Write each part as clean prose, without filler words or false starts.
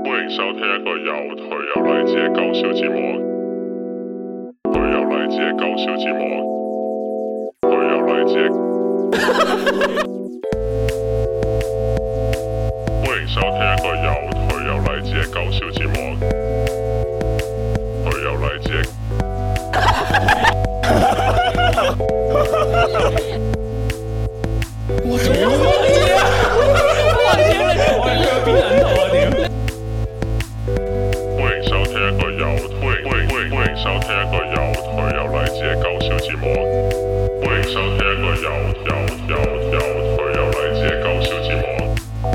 歡迎收聽一個又頹又勵志嘅搞笑節目。頹又勵志嘅搞笑節目。頹又勵志嘅。歡迎收聽一個又頹又勵志嘅搞笑節目。頹又勵志嘅。 我屌你啊！我屌你！我係腳邊人頭啊屌！ 歡迎收聽一個又歡迎收聽一個又頹又勵志嘅搞笑節目。歡迎收聽一個又頹又勵志嘅搞笑節目。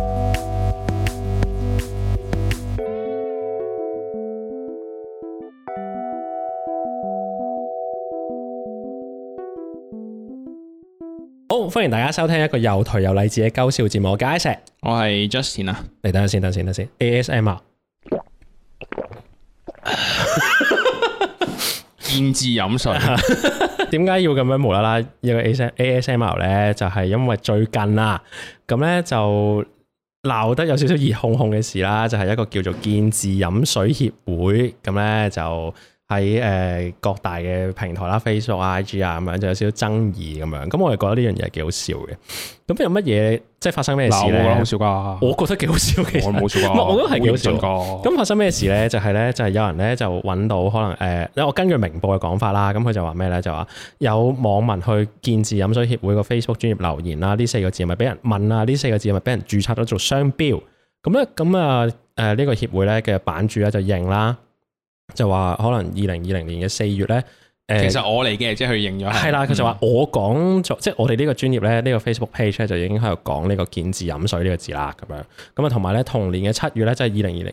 好，歡迎大家收聽一個又頹又勵志嘅搞笑節目。我係石， 我係 Justin 啊， 嚟等陣先 ASMR 見字飲水。 點解要咁樣無啦啦一個 ASMR 咧？就係因為最近啊，咁咧就鬧得有少少熱烘烘嘅事啦，就係一個叫做見字飲水協會，咁咧就喺各大嘅平台啦 ，Facebook 啊、IG 啊咁樣，就有少少爭議咁樣。咁我哋覺得呢樣嘢幾好笑嘅。咁有乜嘢即係發生咩事咧？ 我覺得好笑㗎。 我覺得幾好笑嘅。 我冇笑㗎。 我覺得係幾好笑。 㗎。 咁發生咩事咧？就係有人咧就揾到可能因為我根據明報嘅講法啦，咁佢就話咩咧？就話有網民去見字飲水協會個 Facebook 專頁留言啦，呢4個字係咪俾人問啊？呢4個字係咪俾人註冊咗做商標？咁啊呢個協會咧嘅版主咧就認啦。就話可能2020年嘅4月咧， 其實我嚟嘅，即係佢認咗係啦。佢就話我講咗，即係我哋呢個專業咧，呢個 Facebook page 咧就已經喺度講呢個見字飲水呢個字啦，咁樣咁啊，同埋咧同年嘅7月咧，即係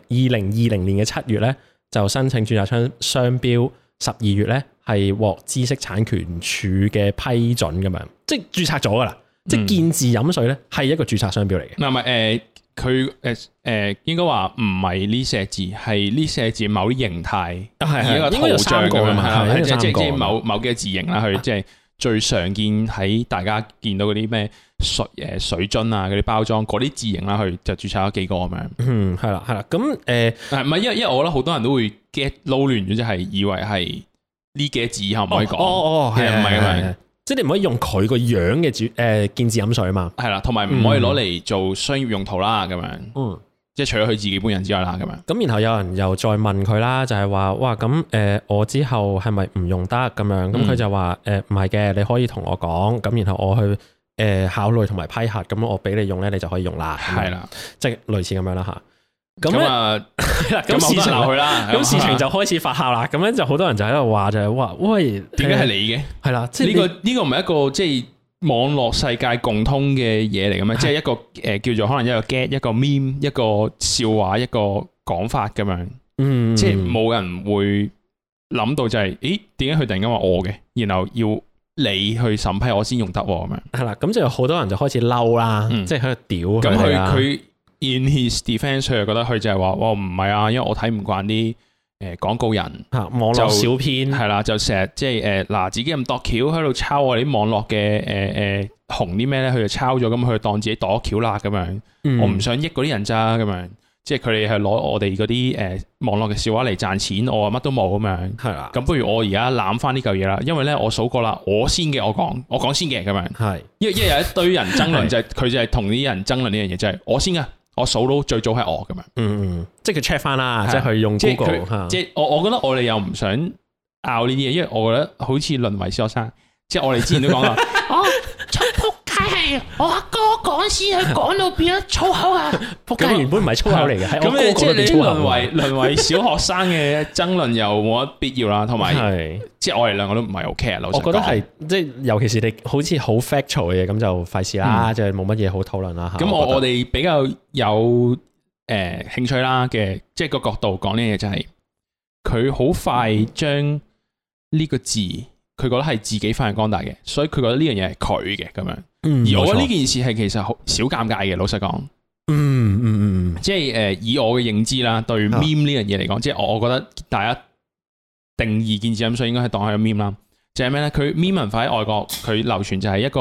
2020年嘅7月咧，就申請註冊商標，12月咧係獲知識產權署嘅批准咁樣，即係註冊咗噶啦，即係見字飲水咧係一個註冊商標嚟嘅。 唔係佢應該話唔係呢4字，係呢4字某啲形態，一個圖像咁樣，係即係某幾個字形啦。佢即係最常見喺大家見到嗰啲咩水樽啊嗰啲包裝嗰啲字形啦，佢就註冊咗幾個咁樣。 係啦。咁唔係因為我覺得好多人都會 get 撈亂咗，即係以為係呢幾個字以後唔可以講。係唔係咁樣？ 即係你唔可以用佢個樣嘅見字飲水啊嘛， 係啦，同埋唔可以攞嚟做商業用途啦，咁樣，即係除咗佢自己本人之外啦，咁樣。 咁然後有人又再問佢啦，就係話哇咁我之後係咪唔用得咁樣？咁佢就話唔係嘅，你可以同我講，咁然後我去考慮同埋批核，咁我俾你用咧，你就可以用啦。係啦，即係類似咁樣啦嚇。咁啊，咁事情鬧佢啦，咁事情就開始發酵啦。咁樣就好多人就喺度話就係話，喂， 點解係你嘅？係啦，即係呢個唔係一個即係網絡世界共通嘅嘢嚟嘅咩？即係一個叫做可能一個 get 一個 meme 一個笑話一個講法咁樣。即係冇人會諗到就係，咦？點解佢突然間話我嘅，然後要你去審批我先用得咁樣？係啦， 咁就有好多人就開始嬲啦，即係喺度屌佢啦。 咁佢In his defense， 佢又覺得佢就係話，唔係啊，因為我睇唔慣啲廣告人網絡小編係啦，就成日即係嗱自己咁度橋喺度抄我哋啲網絡嘅紅啲咩咧，佢就抄咗，咁佢當自己度橋啦咁樣。我唔想益嗰啲人咋咁樣，即係佢哋係攞我哋嗰啲網絡嘅笑話嚟賺錢，我乜都冇咁樣。係啦，咁不如我而家攬翻呢嚿嘢啦，因為咧我數過啦，我先嘅，我講先嘅咁樣。係，因為有一堆人爭論就係佢就係同啲人爭論呢樣嘢，就係我先嘅。我數到最早係我咁樣， 即係佢 check 翻啦，即係佢用 Google， 即係我覺得我哋又唔想拗呢啲嘢，因為我覺得好似淪為小學生，即係我哋之前都講啦， 出仆街係我阿哥講先，佢講到變咗粗口啊！ 仆街原本唔係粗口嚟嘅，係我哥咁即係你淪為小學生嘅爭論又冇乜必要啦，同埋即係我哋兩個都唔係好 care。我覺得係即係尤其是你好似好 factual 嘅嘢，咁就費事啦，即係冇乜嘢好討論啦。 咁我哋比較有興趣啦嘅，即係個角度講呢嘢就係佢好快將呢個字，佢覺得係自己發揚光大嘅，所以佢覺得呢樣嘢係佢嘅咁樣。而我覺得呢件事係其實好少尷尬嘅，老實講。即係以我嘅認知啦，對 meme 呢樣嘢嚟講，即係我覺得大家定義見字飲水應該係當係個 meme 啦。就係咩咧？佢 meme 文化喺外國，佢流傳就係一個，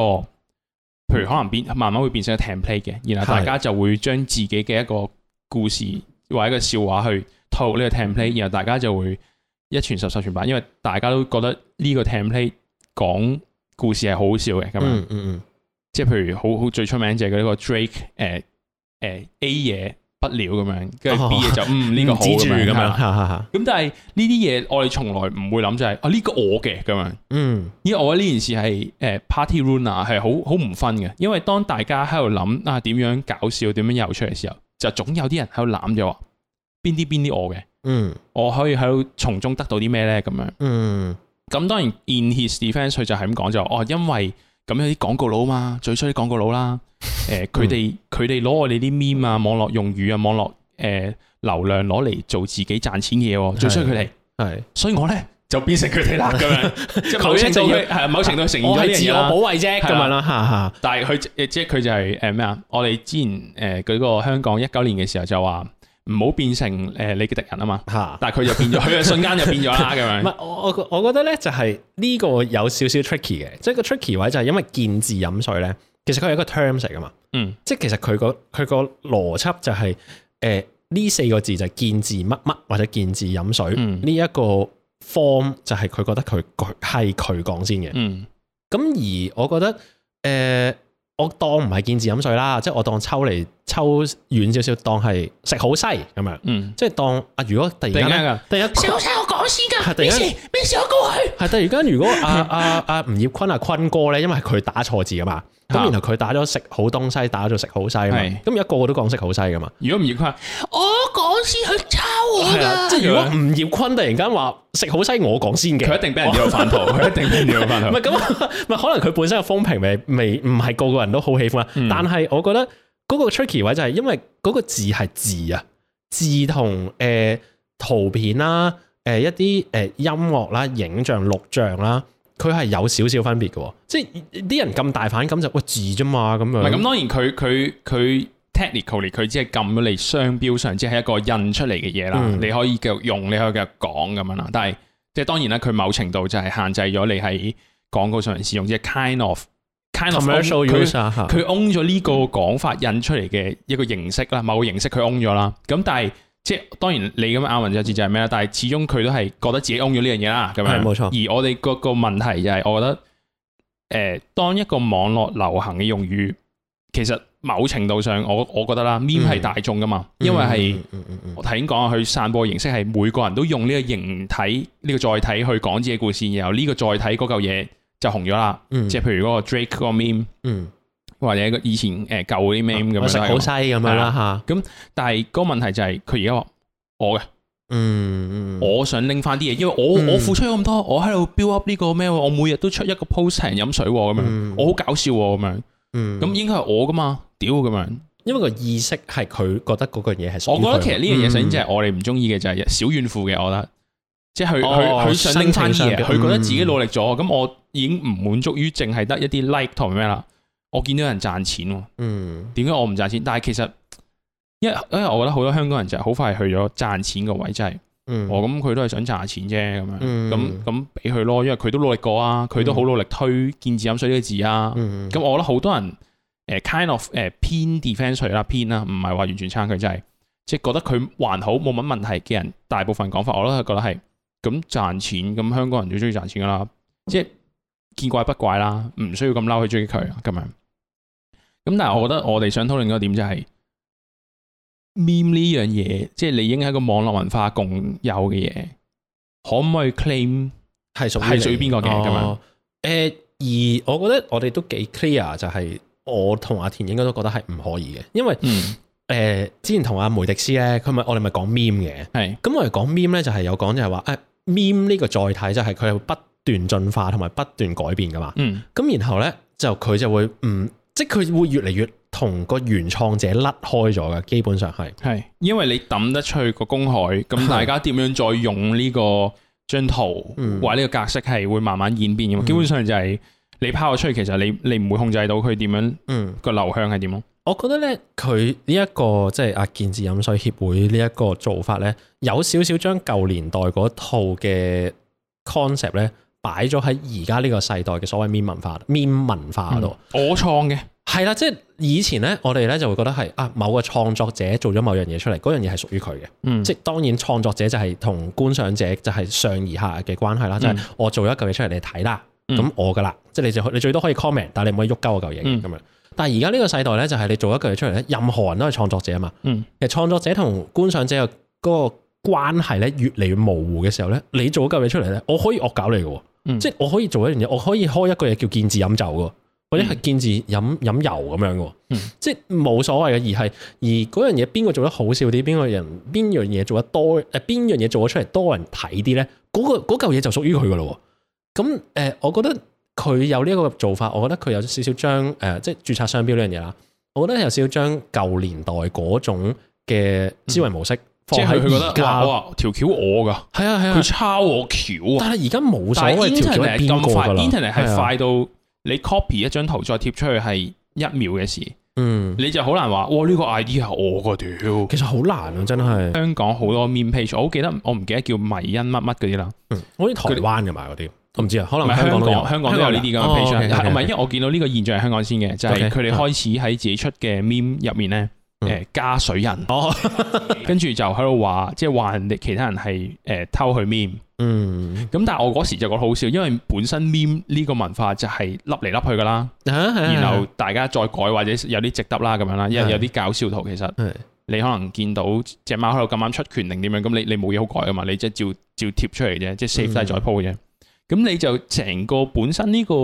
譬如可能慢慢會變成一個 template 嘅，然後大家就會將自己嘅一個故事或者一個笑話去套呢個 template，然後大家就會一傳十，十傳百，因為大家都覺得呢個 template 講故事係好好笑嘅咁樣。即係譬如好最出名就係嗰個 Drake A 嘢不了咁樣，跟住 B 嘢就呢個好咁樣。咁但係呢啲嘢我哋從來唔會諗就係呢個我嘅咁樣。因為我覺得呢件事係party runner 係好唔分嘅，因為當大家喺度諗點樣搞笑、點樣有趣嘅時候，就總有啲人喺度攬咗話邊啲我嘅。我可以喺度從中得到啲咩咧咁樣。咁當然 in his defense 佢就係咁講就因為咁有啲廣告佬嘛，最衰啲廣告佬啦。佢哋攞我哋啲 meme 啊、網絡用語啊、網絡流量攞嚟做自己賺錢嘅嘢，最衰佢哋。係，所以我咧就變成佢哋啦咁樣。即係某程度承認咗呢樣嘢啦。我係自我保衞啫咁樣啦。但係佢就係咩啊？我哋之前嗰個香港19年嘅時候就話唔好變成你嘅敵人啊嘛。但係佢就變咗，佢嘅瞬間就變咗啦咁樣。唔係我覺得咧就係呢個有少少 tricky 嘅，即係個 tricky 位就係因為見字飲水咧。其實佢係一個 terms 嚟噶嘛，即係其實佢個邏輯就係呢4個字就係見字乜乜或者見字飲水呢一個 form 就係佢覺得佢係佢講先嘅，咁而我覺得我當唔係見字飲水啦，即係我當抽遠少少，當係食好西咁樣，即係當如果突然間食好西我講先㗎，咩事我過去， 係突然間如果吳業坤坤哥咧，因為佢打錯字噶嘛。咁然後佢打咗食好東西，打咗食好西嘛。咁而家個個都講食好西噶嘛。如果吳業坤， 我講先去抄我㗎。 即係如果吳業坤突然間話食好西，我講先嘅，佢一定俾人掉翻圖。佢一定俾人掉翻圖。唔係咁，唔係可能佢本身嘅風評未唔係個個人都好喜歡啦。但係我覺得嗰個 tricky 位就係因為嗰個字係字啊，字同圖片啦，一啲音樂啦、影像、錄像啦。佢係有少少分別嘅，即係啲人咁大反感就喂字啫嘛咁樣。唔係咁，當然佢 technically 佢只係撳咗你商標上，即係一個印出嚟嘅嘢啦。你可以繼續用，你可以繼續講咁樣啦。但係即係當然啦，佢某程度就係限制咗你喺廣告上使用，即係 kind of commercial use。佢 own 咗呢個講法印出嚟嘅一個形式啦，某個形式佢 own 咗啦。咁但係即係當然你咁亞文就字就係咩啦，但係始終佢都係覺得自己 own 咗呢樣嘢啦，咁樣。係冇錯。而我哋個問題就係，我覺得當一個網絡流行嘅用語，其實某程度上我覺得啦 ，meme 係大眾噶嘛，因為係我頭先講佢散播形式係每個人都用呢個形體呢個載體去講自己故事，然後呢個載體嗰嚿嘢就紅咗啦。即係譬如嗰個 Drake 嗰個 meme。或者以前舊嗰啲 meme 咁樣，食好西咁樣啦嚇。咁但係嗰個問題就係佢而家話我嘅，我想拎翻啲嘢，因為我付出咗咁多，我喺度 build up 呢個咩？我每日都出一個 post 請人飲水咁樣，我好搞笑咁樣。咁應該係我噶嘛？屌咁樣，因為個意識係佢覺得嗰個嘢係。我覺得其實呢樣嘢首先即係我哋唔中意嘅就係小怨婦嘅，我覺得即係佢想拎翻啲嘢，佢覺得自己努力咗，咁我已經唔滿足於淨係得一啲 like 同咩啦。我見到有人賺錢喎，點解我唔賺錢？但係其實，因為我覺得好多香港人就係好快去咗賺錢個位，即係，咁佢都係想賺下錢啫，咁樣，咁俾佢咯，因為佢都努力過啊，佢都好努力推見字飲水呢個字啊，咁我覺得好多人kind of 偏 defense 啦，偏啦，唔係話完全撐佢，就係即係覺得佢還好冇乜問題嘅人，大部分講法我都係覺得係咁賺錢，咁香港人最中意賺錢噶啦，即係見怪不怪啦，唔需要咁嬲去追佢咁樣。咁但係我覺得我哋想討論嗰個點就係 meme 呢樣嘢，即係你已經係一個網絡文化共有嘅嘢，可唔可以 claim 係屬於邊個嘅咁樣？而我覺得我哋都幾 clear，就係我同阿田應該都覺得係唔可以嘅，因為之前同阿梅迪斯咧，我哋咪講 meme 嘅，係咁我哋講 meme 咧就係有講就係話meme 呢個載體就係佢係不斷進化同埋不斷改變噶嘛，咁然後咧就佢就會即係佢會越嚟越同個原創者甩開咗嘅，基本上係，因為你抌得出去個公海，咁大家點樣再用呢個張圖或者呢個格式係會慢慢演變嘅嘛，基本上就係你拋咗出去，其實你唔會控制到佢點樣個流向係點咯。我覺得咧，佢呢一個即係見字飲水協會呢一個做法咧，有少少將舊年代嗰套嘅 concept 咧擺咗喺而家呢個世代嘅所謂 meme 文化嗰度。我創嘅， 係啦，即係以前咧，我哋咧就會覺得係某個創作者做咗某樣嘢出嚟，嗰樣嘢係屬於佢嘅。即係當然創作者就係同觀賞者就係上而下嘅關係啦。即係我做咗一嚿嘢出嚟，你睇啦，咁我噶啦，即係你最多可以 comment，但係你唔可以喐鳩嗰嚿嘢咁樣。但係而家呢個世代咧，就係你做一嚿嘢出嚟咧，任何人都係創作者啊嘛。其實創作者同觀賞者嘅嗰個關係咧越嚟越模糊嘅時候咧，你做一嚿嘢出嚟咧，我可以惡搞你嘅，即係我可以做一樣嘢，我可以開一個嘢叫見字飲酒嘅。或者係見字飲油咁樣嘅，即係冇所謂嘅，而嗰樣嘢邊個做得好笑啲，邊樣嘢做得多，邊樣嘢做咗出嚟多人睇啲咧，嗰嚿嘢就屬於佢噶咯。咁我覺得佢有呢一個做法，我覺得佢有少少將即係註冊商標呢樣嘢啦，我覺得有少少將舊年代嗰種嘅思維模式放喺而家。 哇，條橋我噶， 係啊， 佢抄我橋啊！ 但係而家冇所謂條橋係邊個㗎啦。 Internet 係快到。你 copy 一張圖再貼出去係1秒嘅事，你就好難話，哇呢個 idea 係我個屌， 其實好難啊，真係。香港好多 meme page，我唔記得叫迷因乜乜嗰啲啦， 好似台灣嘅嘛嗰啲，我唔知啊，可能香港都有呢啲咁嘅 page，唔係，因為我見到呢個現象係香港先嘅，就係佢哋開始喺自己出嘅 meme 入面咧。加水印，跟住就喺度話，即係話人哋其他人係偷佢 meme，咁但係我嗰時就覺得好笑，因為本身 meme 呢個文化就係笠嚟笠去噶啦，然後大家再改或者有啲值得啦咁樣啦，因為有啲搞笑圖其實你可能見到隻貓喺度咁啱出拳定點樣，咁你冇嘢好改噶嘛，你即係照貼出嚟啫，即係 save 低再 po 啫，咁你就成個本身呢個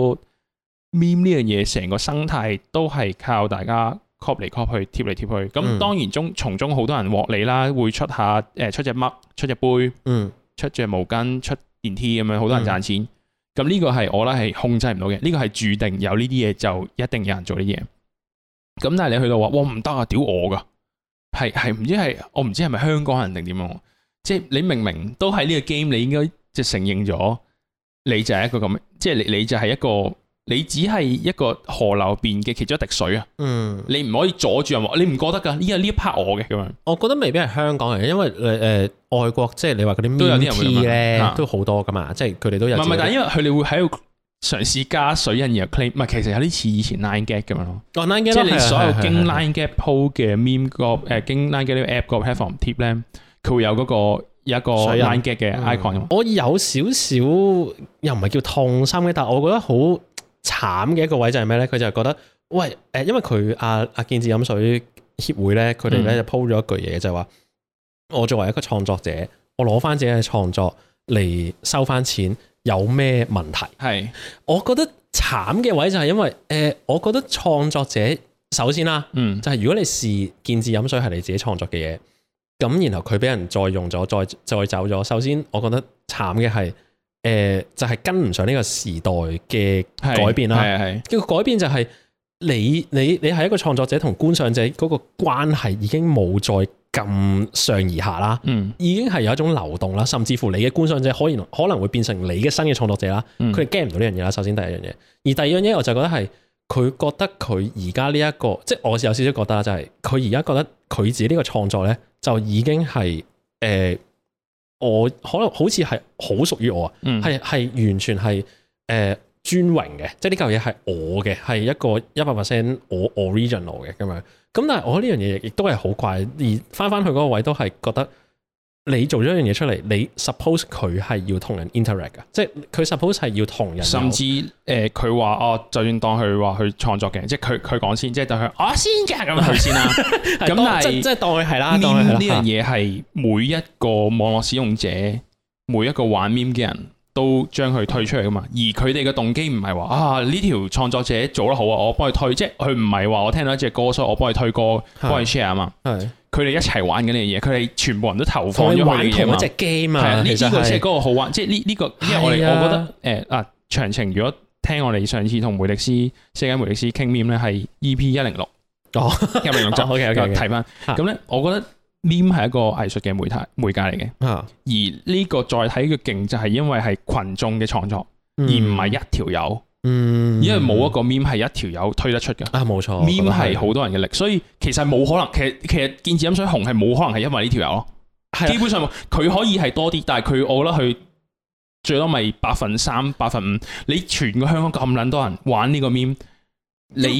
meme 呢樣嘢，成個生態都係靠大家。copy 嚟 copy 去，貼嚟貼去，咁當然從中好多人獲利啦，會出下出隻乜，出隻杯，出隻毛巾，出電梯咁樣，好多人賺錢。咁呢個係我覺得係控制唔到嘅，呢個係注定有呢啲嘢就一定有人做呢啲嘢。咁但係你去到話，哇唔得啊，屌我噶，係唔知係我唔知係咪香港人定點樣？即係你明明都喺呢個 game，你應該即係承認咗，你就係一個咁，即係你就係一個。你只係一個河流邊嘅其中一滴水啊！你唔可以阻住人話，你唔覺得㗎？呢一 part 我嘅咁樣。我覺得未必係香港人，因為外國即係你話嗰啲 meme 咧都好多㗎嘛，即係佢哋都有。唔係，但係因為佢哋會喺度嘗試加水印然後 claim， 唔係其實有啲似以前 Line Gag 咁樣咯。Line Gag 即係你所有經 Line Gag po 嘅 meme 個經 Line Gag 呢個 app 個 platform 貼咧，佢會有嗰個。有一個 Line Gag 嘅 icon。我有少少又唔係叫痛心嘅，但係我覺得好慘嘅一個位就係咩咧？佢就係覺得，喂，因為佢阿見字飲水協會咧，佢哋咧就 po 咗一句嘢，就係話我作為一個創作者，我攞翻自己嘅創作嚟收翻錢，有咩問題？係，我覺得慘嘅位就係因為我覺得創作者首先啦，就係如果你視見字飲水係你自己創作嘅嘢。咁然後佢俾人再用咗，再走咗。首先，我覺得慘嘅係，就係跟唔上呢個時代嘅改變啦。係個改變就係你係一個創作者同觀賞者嗰個關係已經冇再咁上而下啦。已經係有一種流動啦，甚至乎你嘅觀賞者可能會變成你嘅新嘅創作者啦。佢哋 get 唔到呢樣嘢啦。首先第一樣嘢，而第二樣嘢我就覺得係佢覺得佢而家呢一個，即係我有少少覺得就係佢而家覺得佢自己呢個創作咧。就已經係我可能好似係好屬於我啊，係完全係專榮嘅，即係呢嚿嘢係我嘅，係一個100% 我 original 嘅咁樣。咁但係我覺得呢樣嘢亦都係好怪，而翻去嗰個位都係覺得你做咗一樣嘢出嚟，你 suppose 佢係要同人 interact 噶，即係佢 suppose 係要同人，甚至佢話哦，就算當佢話去創作嘅，即係佢講先，即係當佢我先嘅咁佢先啦。咁但係即係當佢係啦，當佢係啦。呢樣嘢係每一個網絡使用者，每一個玩 meme 嘅人都將佢推出嚟噶嘛。而佢哋嘅動機唔係話啊呢條創作者做得好啊，我幫佢推，即係佢唔係話我聽到一隻歌，所以我幫佢推歌，幫佢 share 啊嘛。係。佢哋一齊玩緊呢樣嘢，佢哋全部人都投放咗佢嘅嘢嘛。同一隻 game 啊，呢個先係嗰個好玩，即係呢個，因為我覺得詳情如果聽我哋上次同梅迪斯世界梅迪斯傾 meme 咧，係 EP106，哦106集 OK 睇翻。咁咧，我覺得 meme 係一個藝術嘅媒介嚟嘅，而呢個再睇嘅勁就係因為係群眾嘅創作，而唔係一條友。因為冇一個 meme 係一條友推得出嘅冇錯 meme 係好多人嘅力，所以其實冇可能，其實見字飲水紅係冇可能係因為呢條友咯，基本上佢可以係多啲，但係我覺得佢最多咪3%、5%，你全個香港咁撚多人玩呢個 meme，你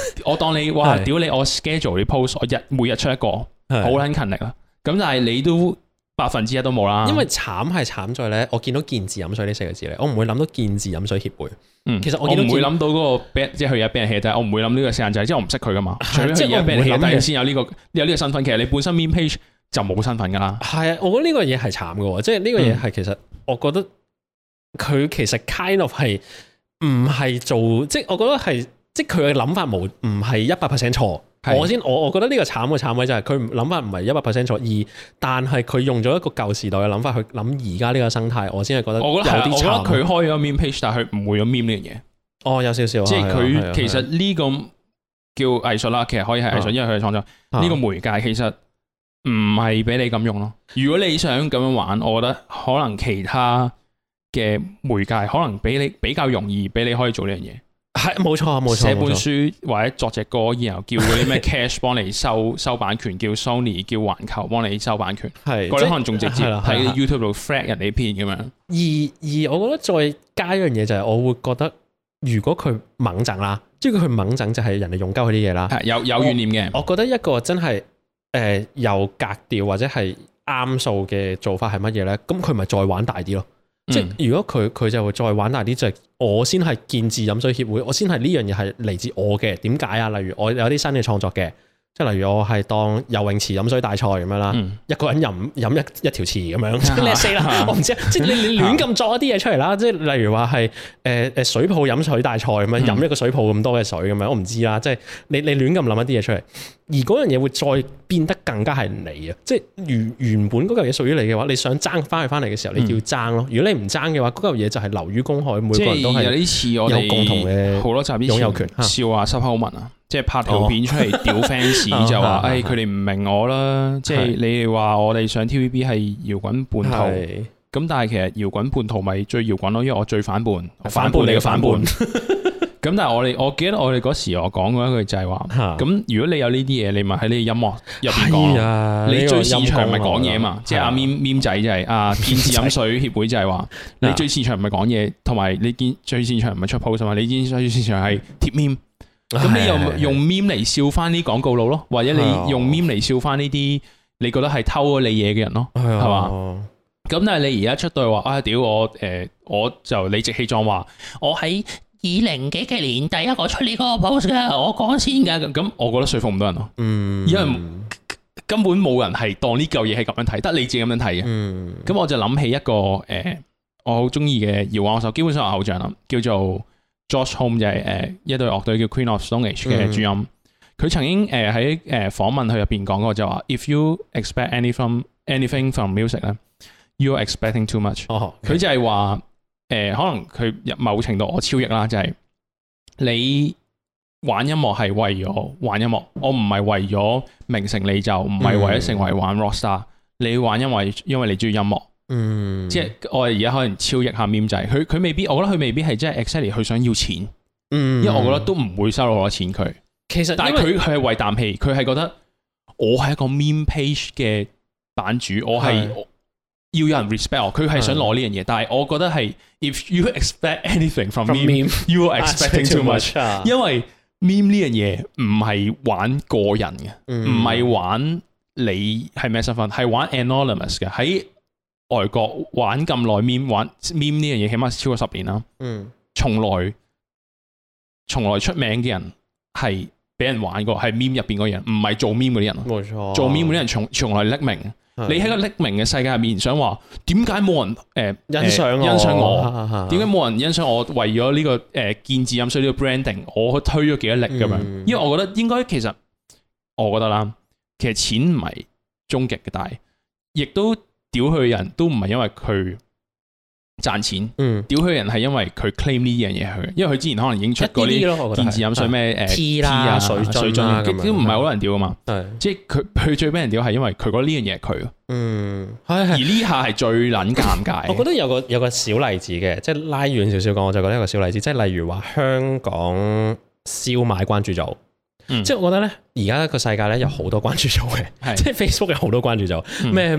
我當你哇屌你我 schedule 啲 post， 我每日出一個，好撚勤力啦。咁但係你都1%都冇啦。 因為慘係慘在咧，我見到健字飲水呢4個字咧，我唔會諗到健字飲水協會。其實我唔會諗到嗰個即係佢有俾人 hea 低，我唔會諗呢個時間掣，即係我唔識佢噶嘛。除非佢而家俾人 hea 低先有呢個身份。其實你本身 meme page 就冇身份噶啦。係啊，我覺得呢個嘢係慘嘅喎，即係呢個嘢係其實我覺得佢其實 kind of 係唔係做，即係我覺得係即係佢嘅諗法唔係100% 錯。我覺得呢個慘嘅慘位就係佢諗法唔係100% 錯，但係佢用咗一個舊時代嘅諗法去諗而家呢個生態，我先係覺得有啲慘。我覺得佢開咗 meme page，但係佢唔會有 meme 呢樣嘢。 哦，有少少， 即係佢其實呢個叫藝術啦，其實可以係藝術，因為佢係創作呢個媒介，其實唔係俾你咁用咯。如果你想咁樣玩，我覺得可能其他嘅媒介可能比較容易俾你可以做呢樣嘢。 係冇錯， 寫本書或者作隻歌，然後叫嗰啲咩 Cash 幫你收版權，叫 Sony 叫環球幫你收版權，嗰啲可能仲直接喺 YouTube 度 flag 人哋片咁樣。 而我覺得再加一樣嘢就係，我會覺得如果佢猛整啦，即係佢猛整就係人哋用鳩佢啲嘢啦， 有怨念嘅。 我覺得一個真係有格調或者係啱數嘅做法係乜嘢咧？咁佢咪再玩大啲咯。即係如果佢就會再玩大啲，就係我先係健字飲水協會，我先係呢樣嘢係嚟自我嘅。點解啊？例如我有啲新嘅創作嘅，即係例如我係當游泳池飲水大賽咁樣啦，一個人飲一條池咁樣，即係你死啦！我唔知，即係你亂咁作一啲嘢出嚟啦。即係例如話係水泡飲水大賽咁樣，飲一個水泡咁多嘅水咁樣，我唔知啦。即係你亂咁諗一啲嘢出嚟，而嗰樣嘢會再變得更加係你啊！即係原本嗰嚿嘢屬於你嘅話，你想爭翻去翻嚟嘅時候，你要爭咯。如果你唔爭嘅話，嗰嚿嘢就係流於公海，每個人都係有啲似我哋共同嘅好多集擁有權笑話濕口文啊！即係拍條片出嚟屌 fans 就話，佢哋唔明我啦。即係你哋話我哋上 TVB 係搖滾叛徒，咁但係其實搖滾叛徒咪最搖滾咯，因為我最反叛，反叛你嘅反叛。咁但係我記得我哋嗰時我講過一句就係話，咁如果你有呢啲嘢，你咪喺你音樂入邊講。你最擅長咪講嘢嘛？即係阿咪仔就係健字飲水協會就係話，你最擅長唔係講嘢，同埋你最擅長唔係出 post 嘛？你最擅長係貼 meme。咁你又用 meme 嚟笑翻啲廣告佬咯，或者你用 meme 嚟笑翻呢啲你覺得係偷咗你嘢嘅人咯，係嘛？咁但係你而家出到話屌我就理直氣壯話我喺 20幾年第一個出呢個 post 噶，我講先噶。 咁我覺得說服唔到人咯，因為根本冇人係當呢嚿嘢係咁樣睇，得你自己咁樣睇嘅。咁我就諗起一個我好中意嘅搖滾樂手，基本上係偶像啦，叫做Josh Homme， 就係一隊樂隊叫 Queen of Stone Age 嘅主音。佢曾經喺訪問佢入邊講過就話 ，If you expect anything from music 咧，you are expecting too much。佢就係話可能佢某程度我超譯啦，就係你玩音樂係為咗玩音樂，我唔係為咗名成利就，唔係為咗成為玩 rockstar。你玩音樂因為你中意音樂。即係我哋而家可能超譯下 meme 仔，佢未必，我覺得佢未必係真係 exactly 佢想要錢，因為我覺得都唔會收到好多錢佢。其實，但係佢係為啖氣，佢係覺得我係一個 meme page 嘅版主，我係要有人 respect 我，佢係想攞呢樣嘢。但係我覺得係 if you expect anything from meme，you are expecting too much。因為 meme 呢樣嘢唔係玩個人嘅，唔係玩你係咩身份，係玩 anonymous 嘅喺。外國玩咁耐 meme 玩 meme 呢樣嘢，起碼超過10年啦。從來出名嘅人係俾人玩過，係 meme 入邊嗰人，唔係做 meme 嗰啲人。冇錯，做 meme 嗰啲人從來匿名。你喺個匿名嘅世界入面，想話點解冇人欣賞我？點解冇人欣賞我？為咗呢個健字飲水呢個 branding， 我推咗幾多力咁樣？因為我覺得應該其實我覺得啦，其實錢唔係終極嘅，但係亦都。屌佢嘅人都唔係因為佢賺錢，屌佢嘅人係因為佢 claim 呢樣嘢佢，因為佢之前可能已經出過啲健字飲水咩T 啊水樽都唔係好多人屌噶嘛，即係佢最俾人屌係因為佢覺得呢樣嘢係佢，而呢下係最撚尷尬。我覺得有個小例子嘅，即係拉遠少少講，我就覺得一個小例子，即係例如話香港燒賣關注組。即係我覺得咧，而家個世界咧有好多關注組嘅，即係 Facebook 有好多關注組，咩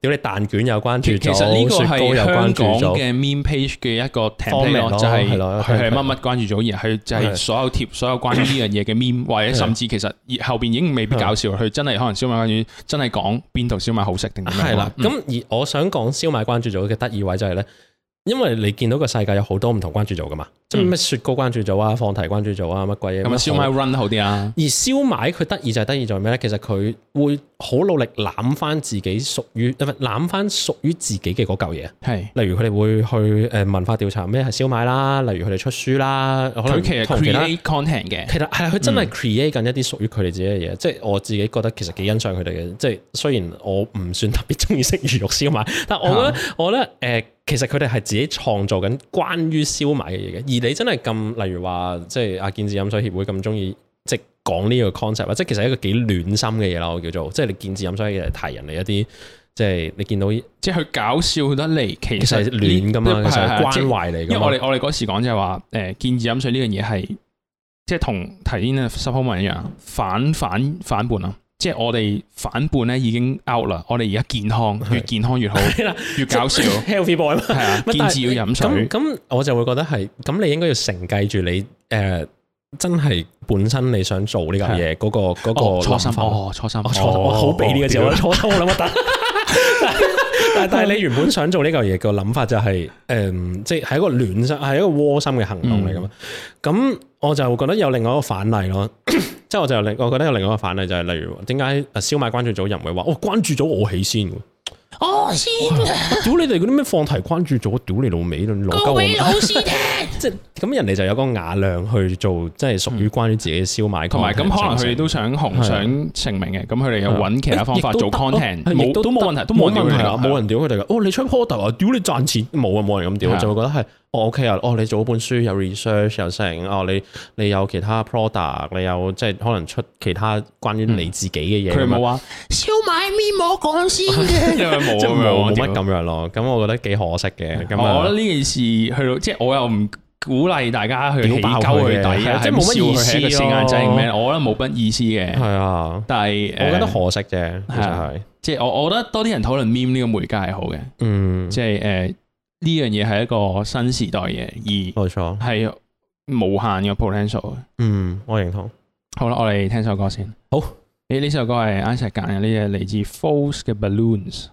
屌你蛋卷有關注組， 其實呢個雪糕有係香港關注組， 嘅 meme page 嘅一個 Format template 咯就係係咯佢係乜乜關注組，而佢就係係所有貼所有關於呢樣嘢嘅 meme，或者甚至其實後邊已經未必搞笑，佢真係可能燒賣關注真係講邊度燒賣好食定點樣。 係啦。咁而我想講燒賣關注組嘅得意位就係咧。因為你見到個世界有好多唔同關注組噶嘛，即係咩雪糕關注組啊、放題關注組啊、乜鬼嘢咁啊。 燒賣 run 好啲啊。 而燒賣佢得意就係得意在咩咧？其實佢會好努力攬翻自己屬於自己嘅嗰嚿嘢。 係， 例如佢哋會去文化調查咩係燒賣啦，例如佢哋出書啦，可能佢其實 create content 嘅。 其實係佢真係 create 緊一啲屬於佢哋自己嘅嘢。即係我自己覺得其實幾欣賞佢哋嘅。即係雖然我唔算特別中意食魚肉燒賣，但我覺得其實佢哋係自己創造緊關於燒賣嘅嘢嘅，而你真係咁，例如話即係阿健智飲水協會咁中意即係講呢個 concept 啊，即係其實係一個幾暖心嘅嘢啦，我叫做即係你健智飲水嘅提人嚟一啲，即係你見到即係佢搞笑得嚟，其實係暖噶嘛，其實係關懷嚟噶嘛。 因為我哋嗰時講就係話健智飲水呢樣嘢係即係同提煙嘅 supplement 一樣反叛啊！即係我哋反叛咧已經 out 啦，我哋而家健康越健康越好，越搞笑 healthy boy 嘛， 係啊，健智要飲水。 咁我就會覺得係咁，你應該要承繼住你真係本身你想做呢嚿嘢嗰個初心。初心，我好俾呢個字，我初心我諗乜得。但係你原本想做呢嚿嘢個諗法就係即係一個暖心，係一個窩心嘅行動嚟噶嘛。咁我就覺得有另外一個反例咯。即係我覺得有另外一個反例就係例如點解燒賣關注組人會話關注咗我起先嘅。 我先屌你哋嗰啲咩放題關注咗，屌你老味咯， 告俾老師聽。 即係咁人哋就有個雅量去做，即係屬於關於自己嘅燒賣。 同埋咁可能佢哋都想紅想成名嘅，咁佢哋又揾其他方法做 content，都冇問題，都冇問題啊！ 冇人屌佢哋噶。你出 product 啊，屌你賺錢冇啊，冇人咁屌，就會覺得係OK 啊，你做本書有 research 有成，你有其他 product， 你有即係可能出其他關於你自己嘅嘢。 佢冇話燒賣面我講先嘅， 因為冇乜咁樣咯。咁我覺得幾可惜嘅。咁我覺得呢件事去到即係我又唔鼓勵大家去起鳩佢底啊， 即係冇乜意思係一個四眼仔咩？我覺得冇乜意思嘅。 係啊， 但係我覺得可惜啫，其實係。 即係我覺得多啲人討論 meme 呢個媒介係好嘅。即係呢樣嘢係一個新時代嘅，而冇錯係無限嘅 potential。 我認同。 好啦，我哋聽首歌先。 好， 呢首歌係 Isaac 揀嘅，呢隻嚟自 Falls 嘅 Balloons。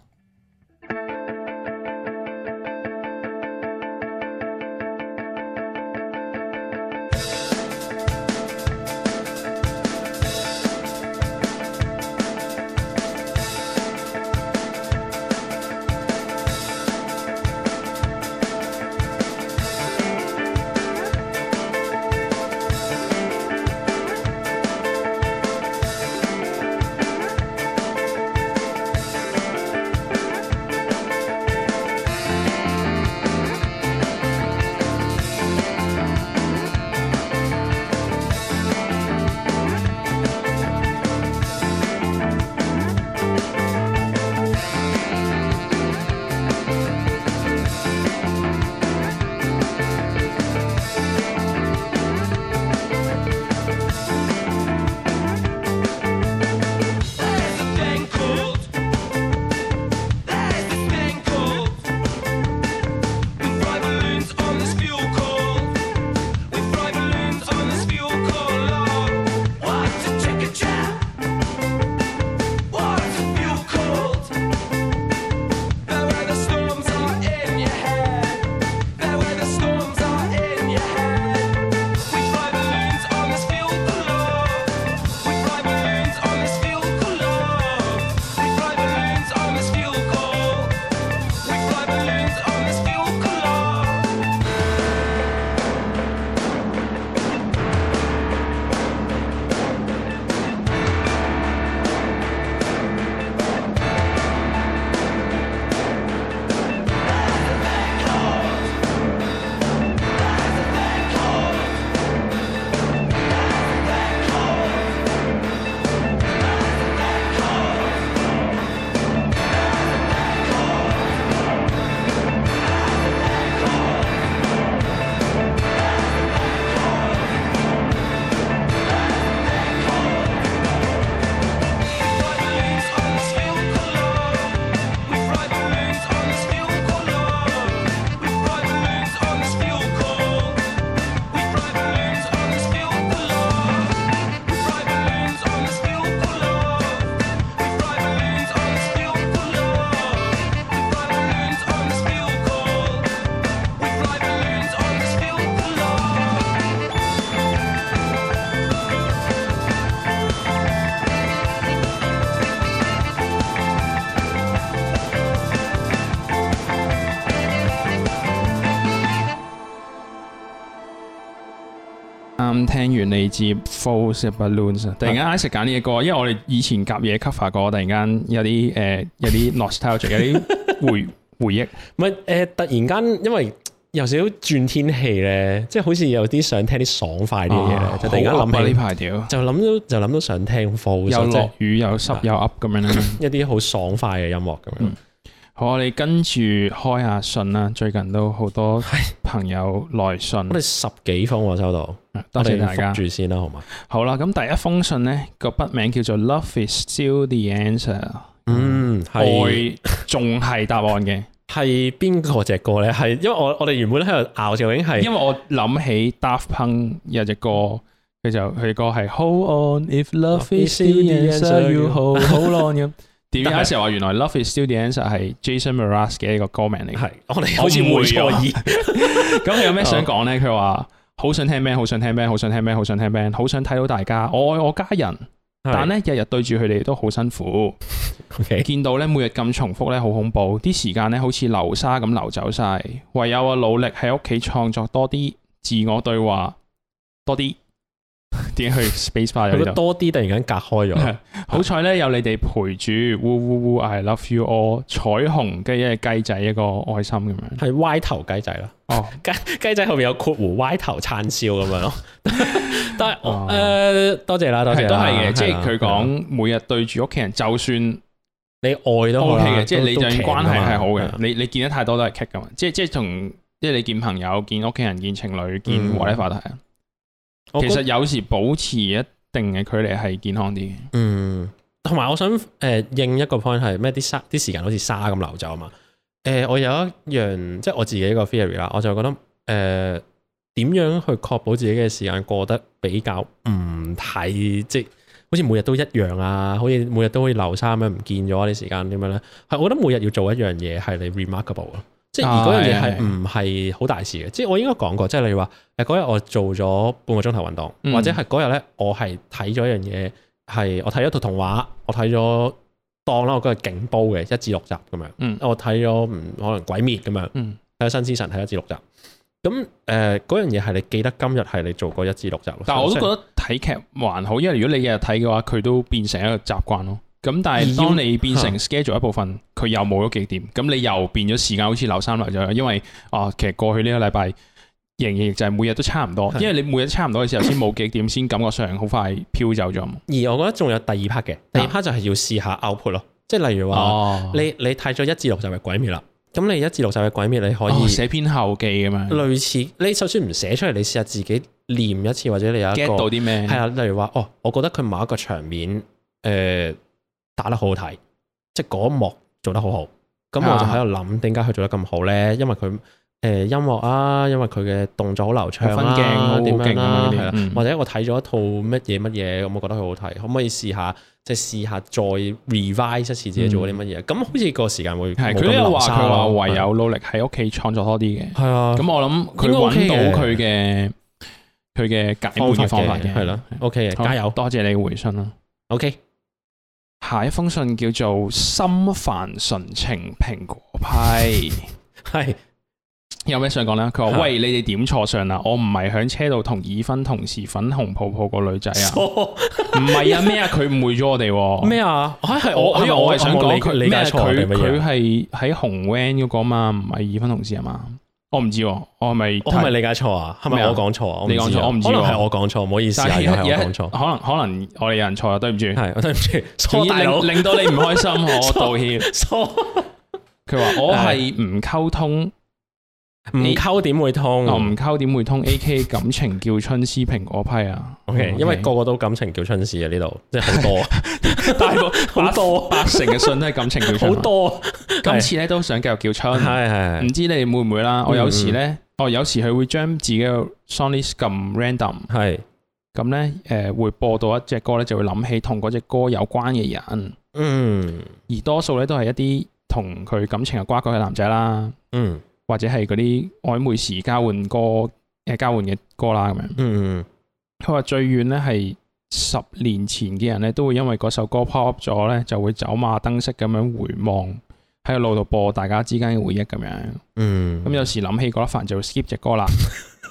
聽完嚟自 False Balloons， 突然間 Isaac 揀呢隻歌，因為我哋以前夾嘢 cover 過，突然間有啲 nostalgia， 有啲回憶。 唔係突然間因為有少少轉天氣咧，即係好似有啲想聽啲爽快啲嘅嘢咧，就突然間諗起呢排屌， 就諗到想聽 False， 又落雨又濕又噏咁樣啦， 一啲好爽快嘅音樂咁樣。 好，我哋跟住開下信啦。最近都好多朋友來信， 我哋10幾封喎收到， 多謝大家。 覆住先啦，好嘛？ 好啦，咁第一封信咧個筆名叫做 Love is still the answer， 愛仲係答案嘅。 係邊個隻歌咧？係因為我哋原本喺度拗究竟係， 因為我諗起 Daft Punk 有隻歌，佢歌係 Hold on if love is still the answer you hold on 咁。點解成日話原來 Love is still the answer 係 Jason Mraz 嘅一個歌名嚟？ 係我哋好似會錯意。 咁佢有咩想講咧？佢話好想聽 band， 好想聽 band， 好想聽 band， 好想聽 band， 好想睇到大家，我愛我家人。但咧日日對住佢哋都好辛苦。見到咧每日咁重複咧好恐怖，啲時間咧好似流沙咁流走晒。唯有我努力喺屋企創作多啲，自我對話多啲。點去 space bar 有多啲突然間隔開咗， 好彩咧有你哋陪住，嗚嗚嗚 I love you all， 彩虹跟一隻雞仔一個愛心咁樣， 係歪頭雞仔啦。哦，雞仔後面有括弧歪頭燦笑咁樣咯。但係多謝啦，多謝啦， 都係嘅，即係佢講每日對住屋企人，就算你愛都 OK 嘅， 即係你就算關係係好嘅，你見得太多都係 kick 噶嘛，即係同即係你見朋友、見屋企人、見情侶、見 whatever 都係。其實有時保持一定嘅距離係健康啲嘅。 同埋我想應一個 point 係咩？啲時間好似沙咁流走啊嘛。我有一樣即係我自己一個 theory 啦，我就覺得點樣去確保自己嘅時間過得比較唔太即係好似每日都一樣啊，好似每日都好似流沙咁樣唔見咗啲時間點樣咧？係我覺得每日要做一樣嘢係你 remarkable 咯。即係而嗰樣嘢係唔係好大事嘅，即係我應該講過，即係例如話嗰日我做咗半個鐘頭運動，或者係嗰日咧我係睇咗一樣嘢，係我睇咗套童話，我睇咗當啦，我嗰日勁煲嘅1至6集咁樣，我睇咗可能鬼滅咁樣，睇咗新之神睇1至6集，咁嗰樣嘢係你記得今日係你做過1至6集咯。 但係我都覺得睇劇還好，因為如果你日日睇嘅話，佢都變成一個習慣咯。咁但係當你變成 schedule 一部分，佢又冇咗幾點，咁你又變咗時間好似流沙流咗，因為其實過去呢個禮拜仍然就係每日都差唔多，因為你每日都差唔多嘅時候先冇幾點，先感覺上好快飄走咗。而我覺得仲有第二 part 嘅，第二 part 就係要試下 output 咯，即係例如話你睇咗1至6集嘅鬼滅啦，咁你1至6集嘅鬼滅你可以寫篇後記咁樣， 類似你就算唔寫出嚟，你試下自己念一次，或者你有一個 get 到啲咩？ 係啊，例如話我覺得佢某一個場面打得好好睇，即係嗰一幕做得好好，咁我就喺度諗點解佢做得咁好咧？因為佢音樂啊，因為佢嘅動作好流暢啊，點樣啦，係啦，或者我睇咗一套乜嘢，咁我覺得佢好睇，可唔可以試下即係試下再 revise 一次自己做啲乜嘢？咁好似個時間會係佢都有話佢話唯有努力喺屋企創作多啲嘅，係啊。咁我諗佢揾到佢嘅解悶嘅方法嘅，係啦。 OK 嘅，加油！ 多謝你回信啦。OK。下一封信叫做心煩純情蘋果批，係有咩想講咧？佢話：喂，你哋點錯相啦？我唔係響車度同已婚同事粉紅泡泡個女仔啊！唔係啊咩啊？佢誤會咗我哋咩啊？係我係想講佢咩？佢係喺紅 van 嗰個嘛，唔係已婚同事啊嘛？我唔知，我係咪理解錯啊？係咪我講錯啊？ 你講錯，我唔知， 可能係我講錯，唔好意思啊，係我講錯。 可能我哋有人錯啊，對唔住， 係我對唔住， 令到你唔開心，我道歉。佢話我係唔溝通， 唔溝點會通？ 唔溝點會通 ？AK 感情叫春絲蘋果批啊 ！OK，因為個個都感情叫春絲啊，呢度即係好多， 大部好多80%嘅信都係感情叫春， 好多。 今次咧都想繼續叫春，係唔知你哋會唔會啦？我有時咧，有時佢會將自己嘅 song list 咁 random， 係咁咧，會播到一隻歌咧，就會諗起同嗰隻歌有關嘅人，而多數咧都係一啲同佢感情有瓜葛嘅男仔啦，或者係嗰啲曖昧時交換嘅歌啦咁樣，佢話最遠咧係10年前嘅人咧，都會因為嗰首歌 pop up 咗咧，就會走馬燈式咁樣回望。喺個路度播大家之間嘅回憶咁樣，咁有時諗起嗰一份就會 skip 隻歌啦。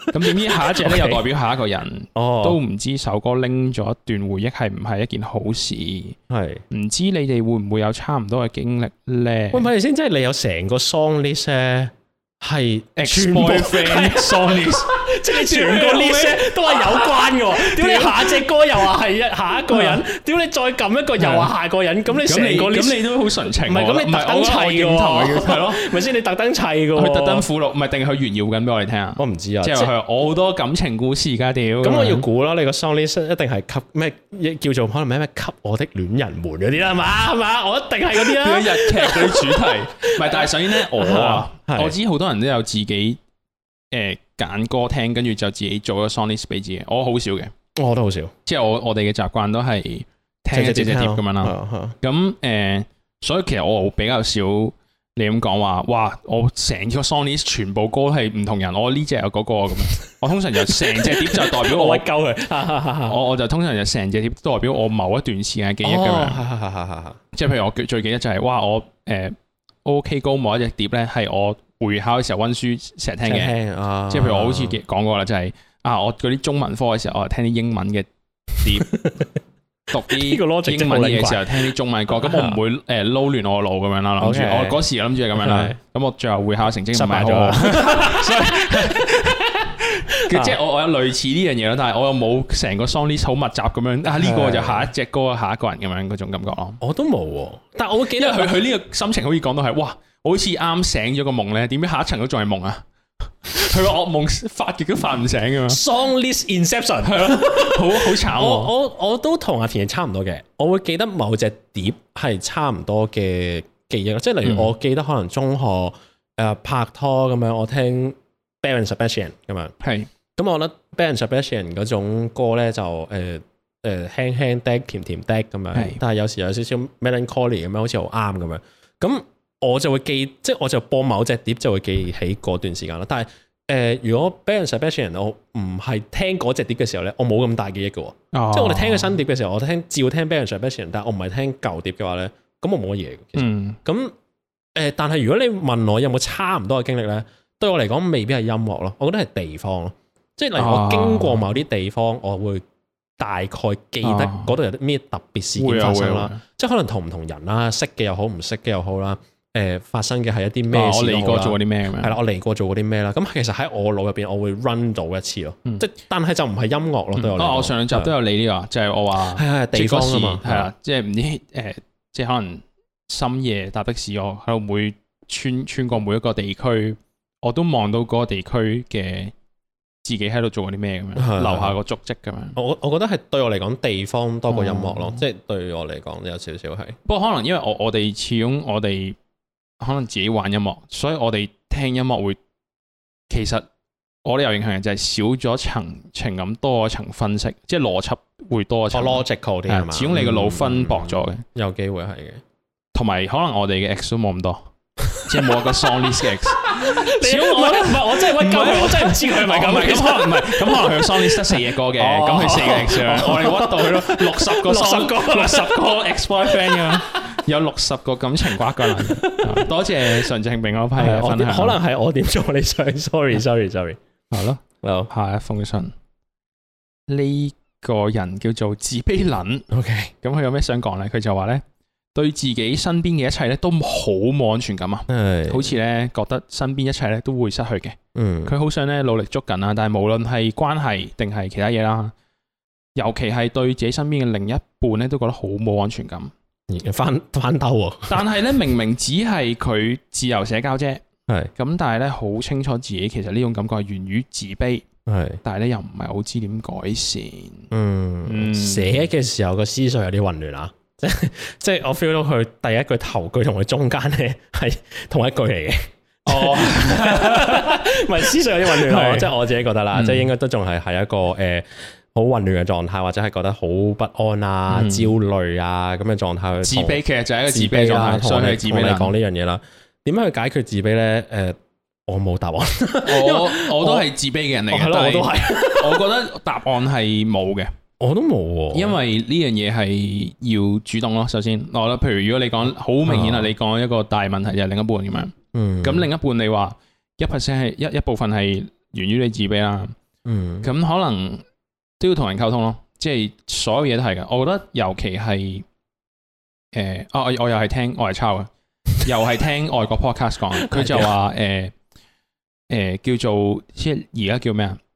咁點知下一隻咧又代表下一個人， 哦， 都唔知首歌拎咗一段回憶係唔係一件好事？ 係。 唔知你哋會唔會有差唔多嘅經歷咧？ 喂，咪先，即係你有成個 song list 咧，係 ex-boyfriend song list， 即係你全個 list 咧都係有關嘅喎。屌你下隻歌又話係下一個人，屌你再撳一個又話下個人，咁你成個 list 咁你都好純情喎。 唔係咁你特登砌嘅喎， 係咯， 咪先你特登砌嘅喎。 佢特登附錄，唔係定係佢炫耀緊俾我哋聽啊？ 我唔知啊， 即係話我好多感情故事而家屌。 咁我要估啦，你個 song list 一定係給咩叫做可能咩給我的戀人們嗰啲啦，係嘛？我一定係嗰啲啦。 日劇嗰啲主題，唔係，但係首先咧，我知好多人都有自己揀歌聽，跟住就自己做個 song list 俾自己。我好少嘅， 我都好少。 即係我哋嘅習慣都係聽一隻碟咁樣啦。咁所以其實我比較少你咁講話，哇！我成個 song list 全部歌係唔同人，我呢隻有嗰個咁樣。我通常就成隻碟就代表我屈鳩佢。 我就通常就成隻碟都代表我某一段時間嘅記憶咁樣。即係譬如我最記得就係哇，我OK 高某一隻碟咧係我會考嘅時候溫書成日聽嘅。即係譬如我好似講過啦，就係我嗰啲中文科嘅時候，我係聽啲英文嘅碟。讀啲英文嘢嘅時候聽啲中文歌，咁我唔會撈亂我腦咁樣啦。諗住我嗰時諗住係咁樣啦，咁我最後會考成績唔係好好，所以即係我有類似呢樣嘢咯，但係我又冇成個 song list 好密集咁樣呢個就下一隻歌下一個人咁樣嗰種感覺咯。 我都冇喎，但係我會記得佢呢個心情好似講到係哇，我好似啱醒咗個夢咧，點解下一層都仲係夢啊？佢個噩夢發極都發唔醒噶嘛 ？Song list inception 係咯，好慘。 我都同阿田差唔多嘅，我會記得某隻碟係差唔多嘅記憶，即係例如我記得可能中學拍拖咁樣，我聽 Belle and Sebastian 咁樣，係咁我覺得 Belle and Sebastian 嗰種歌咧就輕輕的甜甜的咁樣，但係有時有少少 melancholy 咁樣，好似好啱咁樣咁。我就會記，即係我就播某隻碟就會記起嗰段時間啦。但係如果 Belle and Sebastian 我唔係聽嗰隻碟嘅時候咧，我冇咁大記憶嘅喎。即係我哋聽佢新碟嘅時候，我照聽 Belle and Sebastian，但係我唔係聽舊碟嘅話咧，咁我冇乜嘢嘅。其實咁但係如果你問我有冇差唔多嘅經歷咧，對我嚟講未必係音樂咯，我覺得係地方咯。即係例如我經過某啲地方，我會大概記得嗰度有啲咩特別事件發生啦。即係可能同唔同人啦，識嘅又好，唔識嘅又好啦。發生嘅係一啲咩事？我嚟過做過啲咩咁樣？係啦，我嚟過做過啲咩啦？咁其實喺我腦入邊，我會 run 到一次咯。即但係就唔係音樂咯，對我嚟講。我上兩集都有你呢個，就係我話係地方啊嘛，係啦，即係唔知即係可能深夜搭的士，我喺度會穿過每一個地區，我都望到嗰個地區嘅自己喺度做過啲咩咁樣，留下個足跡咁樣。我覺得係對我嚟講，地方多過音樂咯，即係對我嚟講有少少係。不過可能因為我哋始終我哋。可能自己玩音樂，所以我哋聽音樂會，其實我哋有影響嘅就係少咗層情感，多咗層分析，即係邏輯會多咗層。logical 啲係嘛？始終你個腦分薄咗嘅，有機會係嘅。同埋可能我哋嘅 X 都冇咁多，即係冇一個 song list 嘅 X。始終我唔係我真係屈鳩佢，我真係唔知佢係咪咁。咁可能唔係，咁可能佢嘅 song list 得4隻歌嘅，咁佢4個 X 我哋屈到佢咯，60個 X boyfriend 㗎。有60個感情瓜葛啦，多謝純正並嗰批嘅分享。可能係我點做你想 ，sorry。係咯，下一封信，呢個人叫做自卑撚。OK， 咁佢有咩想講咧？佢就話咧，對自己身邊嘅一切咧都好冇安全感啊，好似咧覺得身邊一切咧都會失去嘅。佢好想咧努力捉緊啊，但係無論係關係定係其他嘢啦，尤其係對自己身邊嘅另一半咧，都覺得好冇安全感。翻兜喎，但係咧明明只係佢自由社交啫，係咁，但係咧好清楚自己其實呢種感覺係源於自卑，係，但係咧又唔係好知點改善。寫嘅時候個思緒有啲混亂啊，即係我 feel 到佢第一句頭句同佢中間咧係同一句嚟嘅。哦，唔係思緒有啲混亂咯，即係我自己覺得啦，即係應該都仲係一個好混亂嘅狀態，或者係覺得好不安啊、焦慮啊咁嘅狀態。自卑其實就係一個自卑狀態，所以係自卑嚟講呢樣嘢啦。點樣去解決自卑咧？我冇答案。我都係自卑嘅人嚟嘅，我都係。我覺得答案係冇嘅，我都冇。因為呢樣嘢係要主動咯。首先，我覺得譬如如果你講好明顯啦，你講一個大問題就係另一半咁樣。咁另一半你話1%係一部分係源於你自卑啦。 嗯， 咁可能都要同人溝通咯，即係所有嘢都係嘅。我覺得尤其係我又係聽我係抄嘅，又係聽外國 podcast 講，佢就話叫做即係而家叫咩啊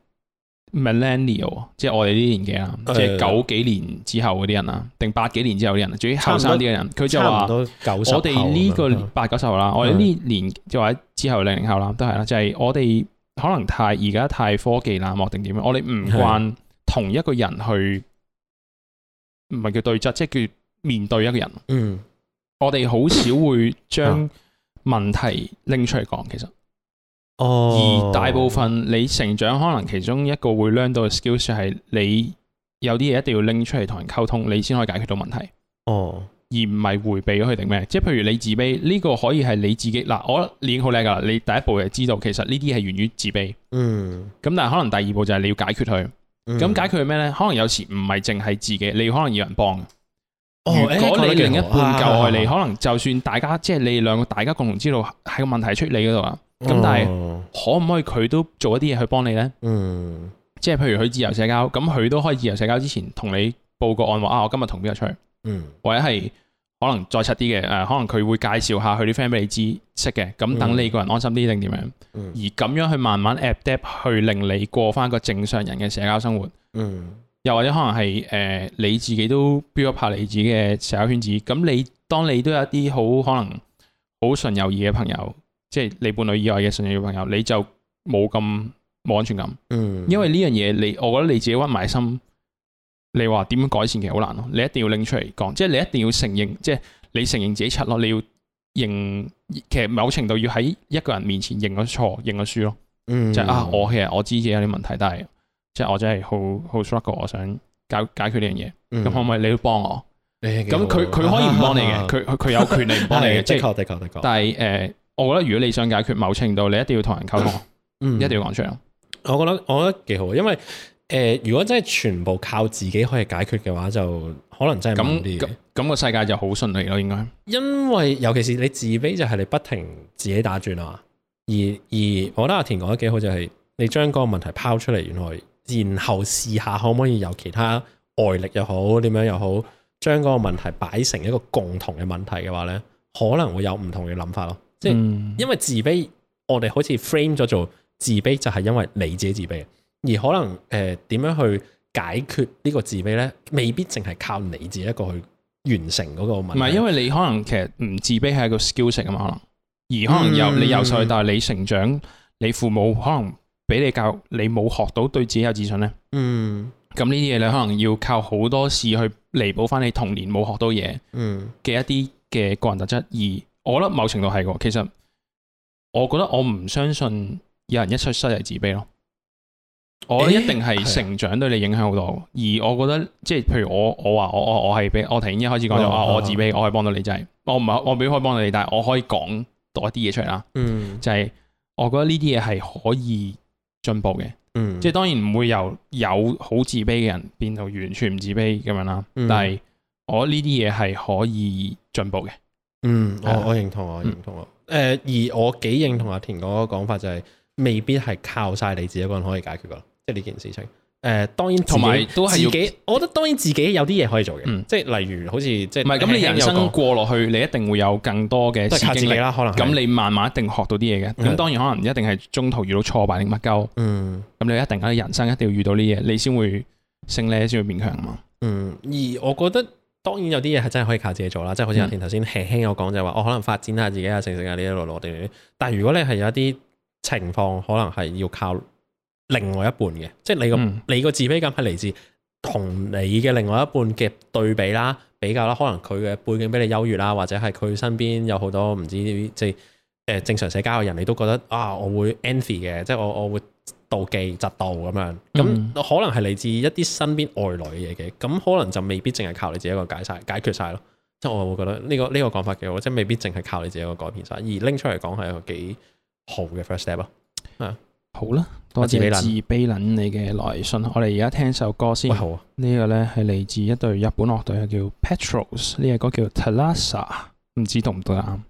？millennial 即係我哋呢啲年紀啦，即係90幾年之後嗰啲人啊，定80幾年之後啲人，總之後生啲嘅人，佢就話我哋呢個80-90後啦，我哋呢年就或者之後00後啦，都係啦，就係我哋可能而家太科技冷漠定點樣，我哋唔慣同一個人去，唔係叫對質，即係叫面對一個人。嗯，我哋好少會將問題拎出嚟講，其實。而大部分你成長可能其中一個會 learn 到嘅 skills 係你有啲嘢一定要拎出嚟同人溝通，你先可以解決到問題。而唔係迴避咗佢定咩？即係譬如你自卑呢個可以係你自己嗱，我覺得你已經好叻㗎啦。你第一步就知道其實呢啲係源於自卑。咁但係可能第二步就係你要解決佢。咁解決係咩咧？可能有時唔係淨係自己，你可能要人幫。如果你另一半夠愛你，可能就算大家即係你哋兩個大家共同知道係個問題出你嗰度啊。咁但係可唔可以佢都做一啲嘢去幫你咧？即係譬如佢自由社交，咁佢都可以自由社交之前同你報個案話我今日同邊個出去，或者係可能再柒啲嘅可能佢會介紹下佢啲 friend 俾你知識嘅，咁等你個人安心啲定點樣？而咁樣去慢慢 adapt 去令你過翻個正常人嘅社交生活。又或者可能係你自己都 build up 下你自己嘅社交圈子，咁當你都有一啲好可能好純友誼嘅朋友。即係你伴侶以外嘅純友誼朋友，你就冇安全感。因為呢樣嘢我覺得你自己屈埋心，你話點樣改善其實好難咯。你一定要拎出嚟講，即係你一定要承認，即係你承認自己柒咯。你要認，其實某程度要喺一個人面前認咗錯、認咗輸咯。就係我其實我知自己有啲問題，但係即係我真係好 struggle，我想解決呢樣嘢。咁可唔可以你都幫我？咁佢可以唔幫你嘅，佢有權利唔幫你嘅。的確。但係我覺得如果你想解決某程度，你一定要同人溝通，一定要講出嚟。 我覺得幾好，因為如果真係全部靠自己可以解決嘅話，就可能真係慢啲嘅。咁個世界就好順利咯，應該。 因為尤其是你自卑，就係你不停自己打轉啊。而我覺得阿田講得幾好，就係你將嗰個問題拋出嚟，然後試下可唔可以有其他外力又好，點樣又好，將嗰個問題擺成一個共同嘅問題嘅話咧，可能會有唔同嘅諗法咯。即係因為自卑，我哋好似 frame 咗做自卑，就係因為你自己自卑，而可能點樣去解決呢個自卑咧，未必淨係靠你自己一個去完成嗰個問題。唔係， 因為你可能其實唔自卑係一個 skill 啊嘛，可能而可能你由細到大你成長，你父母可能俾你教育，你冇學到對自己有自信咧。咁呢啲嘢你可能要靠好多事去彌補翻你童年冇學到嘢嘅一啲嘅個人特質而。我覺得某程度係喎，其實我覺得我唔相信有人一出世係自卑咯。我覺得一定係成長對你影響好多。而我覺得即係譬如我話我係俾我頭先一開始講咗我自卑，我可以幫到你，就係我唔係我未必可以幫到你，但係我可以講多一啲嘢出嚟啦。就係我覺得呢啲嘢係可以進步嘅。即係當然唔會由有好自卑嘅人變到完全唔自卑咁樣啦。但係我覺得呢啲嘢係可以進步嘅。 我認同，我認同。而我幾認同阿田嗰個講法，就係未必係靠晒你自己一個人可以解決噶，即係呢件事情。當然同埋都係自己，我覺得當然自己有啲嘢可以做嘅，即係例如好似即係唔係咁，你人生過落去，你一定會有更多嘅經歷啦。可能咁你慢慢一定學到啲嘢嘅。咁當然可能一定係中途遇到挫敗定乜鳩。咁你一定喺人生一定要遇到呢嘢，你先會升咧，先會變強啊嘛。而我覺得。當然有啲嘢係真係可以靠自己做啦，即係好似阿田頭先輕輕有講就係話，我可能發展下自己啊、成啊呢一路落地。但係如果你係有一啲情況，可能係要靠另外一半嘅，即係你個自卑感係嚟自同你嘅另外一半嘅對比啦、比較啦，可能佢嘅背景比你優越啦，或者係佢身邊有好多唔知即係正常社交嘅人，你都覺得我會 envy 嘅，即係我會。妒忌、嫉妒咁樣，咁可能係嚟自一啲身邊外來嘅嘢嘅，咁可能就未必淨係靠你自己一個解決晒咯。即係我會覺得呢個講法幾好，即係未必淨係靠你自己一個改變晒，而拎出嚟講係一個幾好嘅 first step 咯。 好啦，多謝自卑撚你嘅來信。我哋而家聽首歌先。好啊，呢個咧係嚟自一隊日本樂隊，叫 Petros， 呢個歌叫 Thalassa， 唔知讀唔讀得啱。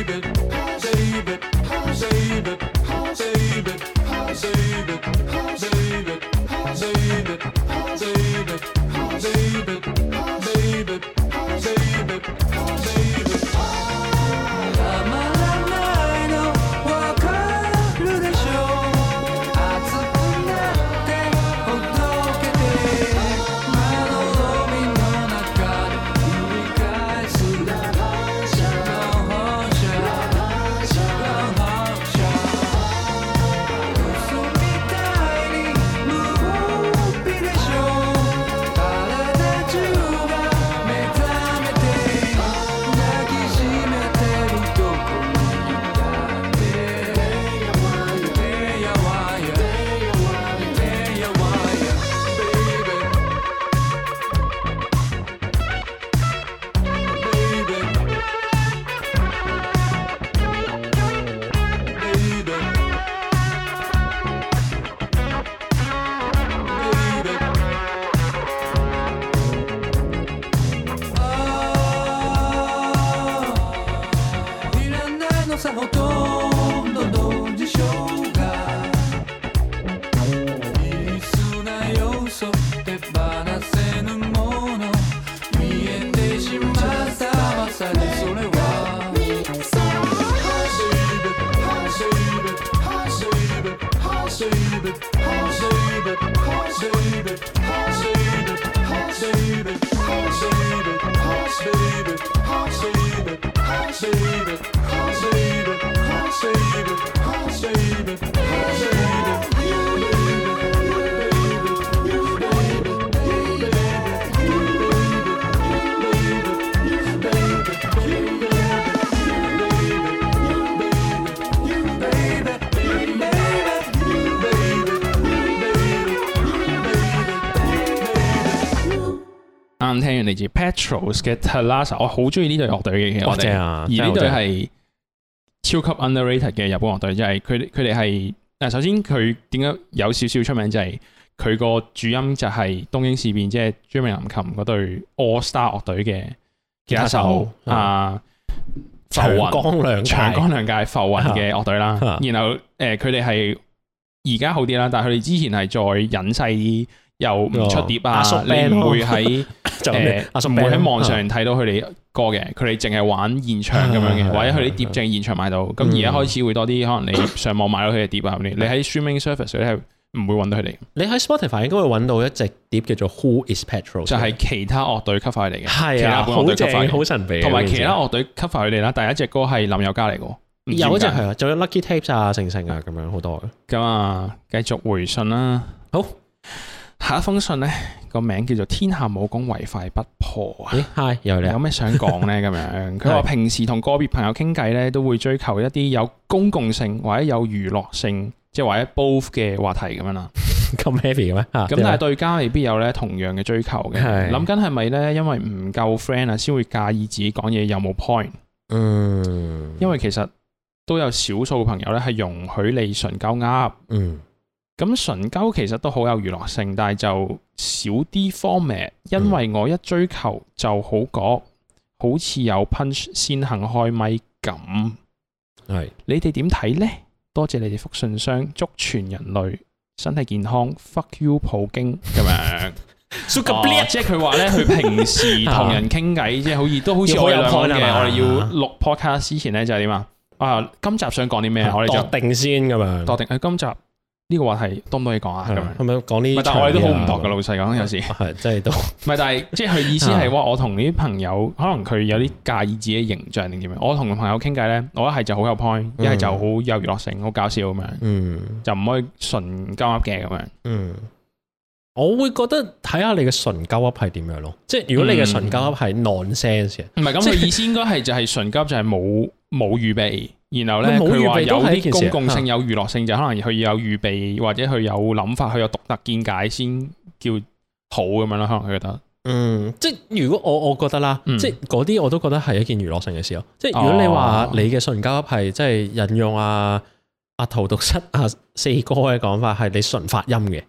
啱聽完嚟自 Petros 嘅 Thalassa， 我好中意呢隊樂隊嘅，我哋而呢隊係超級 underrated 嘅日本樂隊，即係佢哋係首先佢點解有少少出名，就係佢個主音就係東京事變，即係椎名林檎嗰隊 All Star 樂隊嘅吉他手浮雲長江亮介浮雲嘅樂隊啦。然後佢哋係而家好啲啦，但係佢哋之前係再隱世啲。又唔出碟啊！你唔會喺唔會喺網上睇到佢哋歌嘅，佢哋淨係玩現場咁樣嘅，或者佢啲碟淨係現場買到。咁而家開始會多啲，可能你上網買到佢嘅碟啊，你喺 streaming service 咧係唔會揾到佢哋。你喺 Spotify 應該會揾到一隻碟叫做 Who Is Petros， 就係其他樂隊 cover 嚟嘅， 係啊，好正，好神秘。 同埋其他樂隊 cover 佢哋啦，第一隻歌係林宥嘉嚟嘅， 有一隻係啊，仲有 Lucky Tapes 啊、成啊咁樣好多嘅。 咁啊，繼續回信啦。 好。 下一封信咧個名叫做天下武功唯快不破啊！ 係有咩想講咧？咁樣佢話平時同個別朋友傾偈咧，都會追求一啲有公共性或者有娛樂性，即係或者 both 嘅話題咁樣啦。 咁 heavy 嘅咩？咁但係對家未必有咧同樣嘅追求嘅。諗緊係咪咧？因為唔夠 friend 啊，先會介意自己講嘢有冇 point。因為其實都有少數朋友咧係容許你純鳩噏。咁純鳩其實都好有娛樂性，但係就少啲 format， 因為我一追求就好講，好似有 punch 先肯開咪咁。係你哋點睇呢？多謝你哋覆信箱，祝全人類身體健康。Fuck you 普京咁樣。即係佢話咧，佢平時同人傾偈，即係好似都好似我哋兩個嘅。我哋要錄 podcast 之前咧就係點啊？今集想講啲咩？我哋就定先咁樣。度定今集。呢個話題多唔多嘢講啊？咁樣係咪講呢？ 但係我哋都好唔同嘅，老實講有時係真係都唔係，但係即係佢意思係話，我同啲朋友可能佢有啲介意自己形象定點樣。我同朋友傾偈咧，我一係就好有 point，一係就好有娛樂性，好搞笑咁樣。就唔可以純鳩噏嘅咁樣。 我會覺得睇下你嘅純鳩噏係點樣咯。即係如果你嘅純鳩噏係 nonsense 嘅， 唔係咁佢意思應該係就係純鳩就係冇預備。然後咧，佢話有啲公共性、有娛樂性，就可能佢有預備，或者佢有諗法，佢有獨特見解先叫好咁樣啦。可能佢覺得， 即係如果我覺得啦，即係嗰啲我都覺得係一件娛樂性嘅事咯。即係如果你話你嘅純交係即係引用阿陶讀室四哥嘅講法，係你純發音嘅，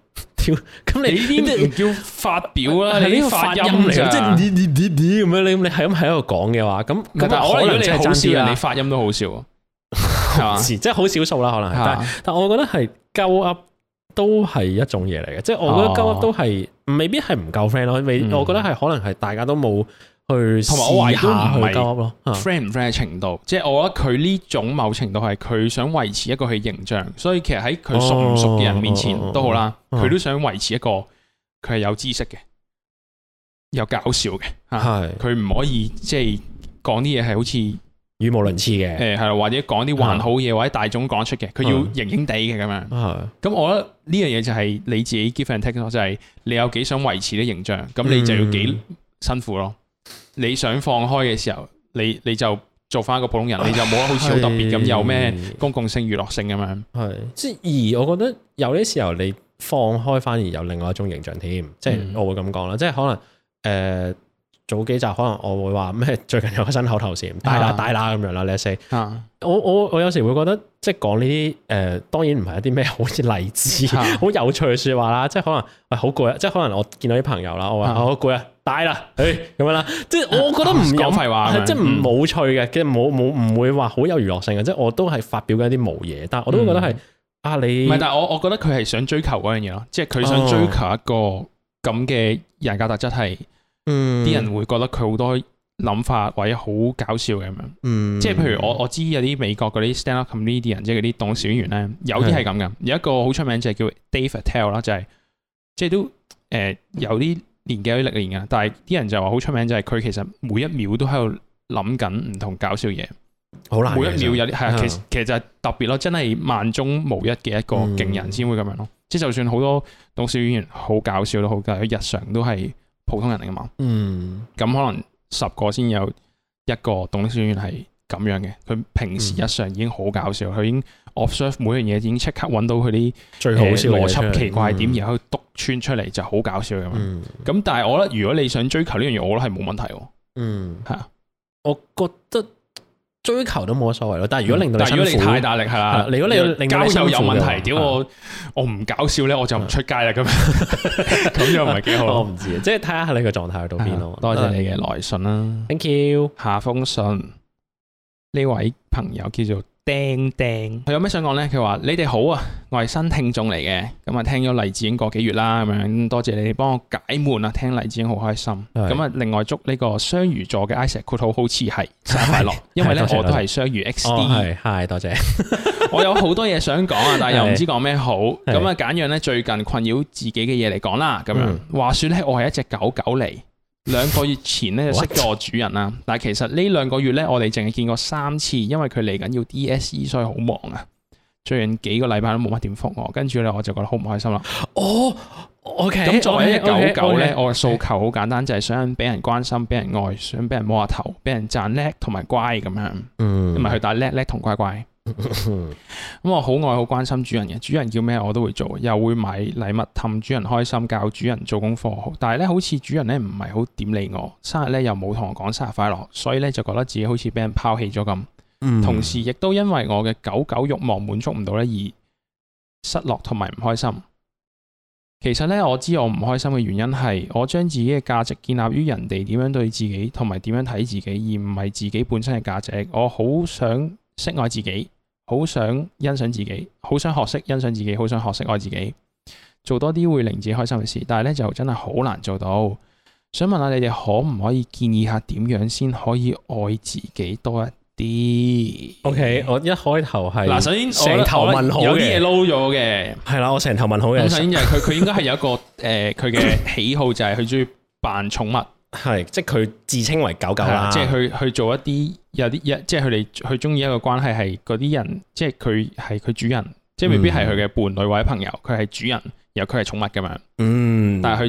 咁你呢啲唔叫發表啦，你啲發音嚟， 即係咁樣，你係咁喺度講嘅話，咁但係我覺得如果你好笑人， 你你發音都好笑啊，係嘛？ 即係好少數啦，可能係，但我覺得係鳩噏都係一種嘢嚟嘅，即係我覺得鳩噏都係未必係唔夠 friend 咯，我覺得係可能係大家都冇去同埋我懷疑都唔係鳩噏咯 friend 唔 friend 嘅程度，即係我覺得佢呢種某程度係佢想維持一個佢形象，所以其實喺佢熟唔熟嘅人面前都好啦，佢都想維持一個佢係有知識嘅、有搞笑嘅，佢唔可以即係講啲嘢係好似語無倫次嘅， 係啦，或者講啲還好嘢或者大眾講出嘅，佢要型型地嘅咁樣。咁我覺得呢樣嘢就係你自己 give and take 咯，就係你有幾想維持啲形象，咁你就要幾辛苦咯。你想放開嘅時候，你就做翻一個普通人，你就冇得好似好特別咁有咩公共性、娛樂性咁樣。 係，即係而我覺得有啲時候你放開反而有另外一種形象添，即係我會咁講啦，即係可能早幾集可能我會話咩最近有個新口頭禪大啦咁樣啦 let's say 我有時會覺得即係講呢啲當然唔係一啲咩好似勵志好有趣嘅説話啦，即係可能好攰啊，即係可能我見到啲朋友啦，我話好攰啊，大啦，咁樣啦，即係我覺得唔有廢話， 即係唔冇趣嘅，其實唔會話好有娛樂性嘅，即係我都係發表緊一啲無嘢，但係我都會覺得係你唔係，但係我覺得佢係想追求嗰樣嘢咯，即係佢想追求一個咁嘅人格特質係。啲人會覺得佢好多諗法或者好搞笑嘅咁樣，即係譬如我知有啲美國嗰啲 stand up comedian，即係嗰啲棟小演員咧，有啲係咁嘅。有一個好出名就係叫 Dave Attell 啦，就係即係都有啲年紀有啲歷練嘅，但係啲人就話好出名就係佢其實每一秒都喺度諗緊唔同搞笑嘢，好難。每一秒有啲係啊，其實就係特別咯，真係萬中無一嘅一個勁人先會咁樣咯。即係就算好多棟小演員好搞笑都好，但係佢日常都係普通人嚟噶嘛，咁可能10個先有一個棟小演員係咁樣嘅，佢平時日常已經好搞笑，佢已經 observe 每樣嘢已經即刻揾到佢啲最好笑邏輯奇怪點，然後篤穿出嚟就好搞笑咁樣。咁但係我覺得如果你想追求呢樣嘢，我覺得係冇問題喎。係啊， 我覺得追求都冇乜所謂咯。但係如果令到你太大力係啦，如果你令交友有問題，屌我唔搞笑咧，我就唔出街啦咁樣，咁又唔係幾好。 我唔知啊，即係睇下你個狀態去到邊咯。 多謝你嘅來信啦 ，thank you。 下封信呢位朋友叫做釘釘，佢有咩想講咧？佢話你哋好啊，我係新聽眾嚟嘅，咁啊聽咗黎智英個幾月啦，咁樣多謝你哋幫我解悶啊，聽黎智英好開心。咁啊，另外祝呢個雙魚座嘅 Isaac 括號好似係生日快樂，因為咧我都係雙魚 XD。係多謝。我有好多嘢想講啊，但係又唔知講咩好，咁啊揀樣咧最近困擾自己嘅嘢嚟講啦。咁樣話說咧，我係一隻狗狗嚟。2個月前咧就識咗我主人啦，但係其實呢2個月咧，我哋淨係見過3次，因為佢嚟緊要 DSE， 所以好忙啊。最近幾個禮拜都冇乜點覆我，跟住咧我就覺得好唔開心啦。OK。咁作為一隻狗狗咧，我嘅訴求好簡單，就係想俾人關心、俾人愛，想俾人摸下頭、俾人讚叻同埋乖咁樣。唔係去打叻叻同乖乖。咁我好愛好關心主人嘅，主人叫咩我都會做，又會買禮物氹主人開心，教主人做功課。但係咧，好似主人咧唔係好點理我，生日咧又冇同我講生日快樂，所以咧就覺得自己好似俾人拋棄咗咁。同時亦都因為我嘅狗狗慾望滿足唔到咧而失落同埋唔開心。其實咧我知我唔開心嘅原因係我將自己嘅價值建立於人哋點樣對自己同埋點樣睇自己，而唔係自己本身嘅價值。我好想識愛自己。好想欣賞自己，好想學識欣賞自己，好想學識愛自己，做多啲會令自己開心嘅事。但係咧就真係好難做到。想問下你哋可唔可以建議下點樣先可以愛自己多一啲 ？OK， 我一開頭係嗱，首先成頭問號嘅， 有啲嘢撈咗嘅， 係啦，我成頭問號嘅。 咁首先就係佢應該係有一個佢嘅喜好就係佢中意扮寵物。 係，即係佢自稱為狗狗啦， 即係去做一啲有啲即係佢哋佢中意一個關係係嗰啲人，即係佢係佢主人，即係未必係佢嘅伴侶或者朋友，佢係主人，然後佢係寵物咁樣。但係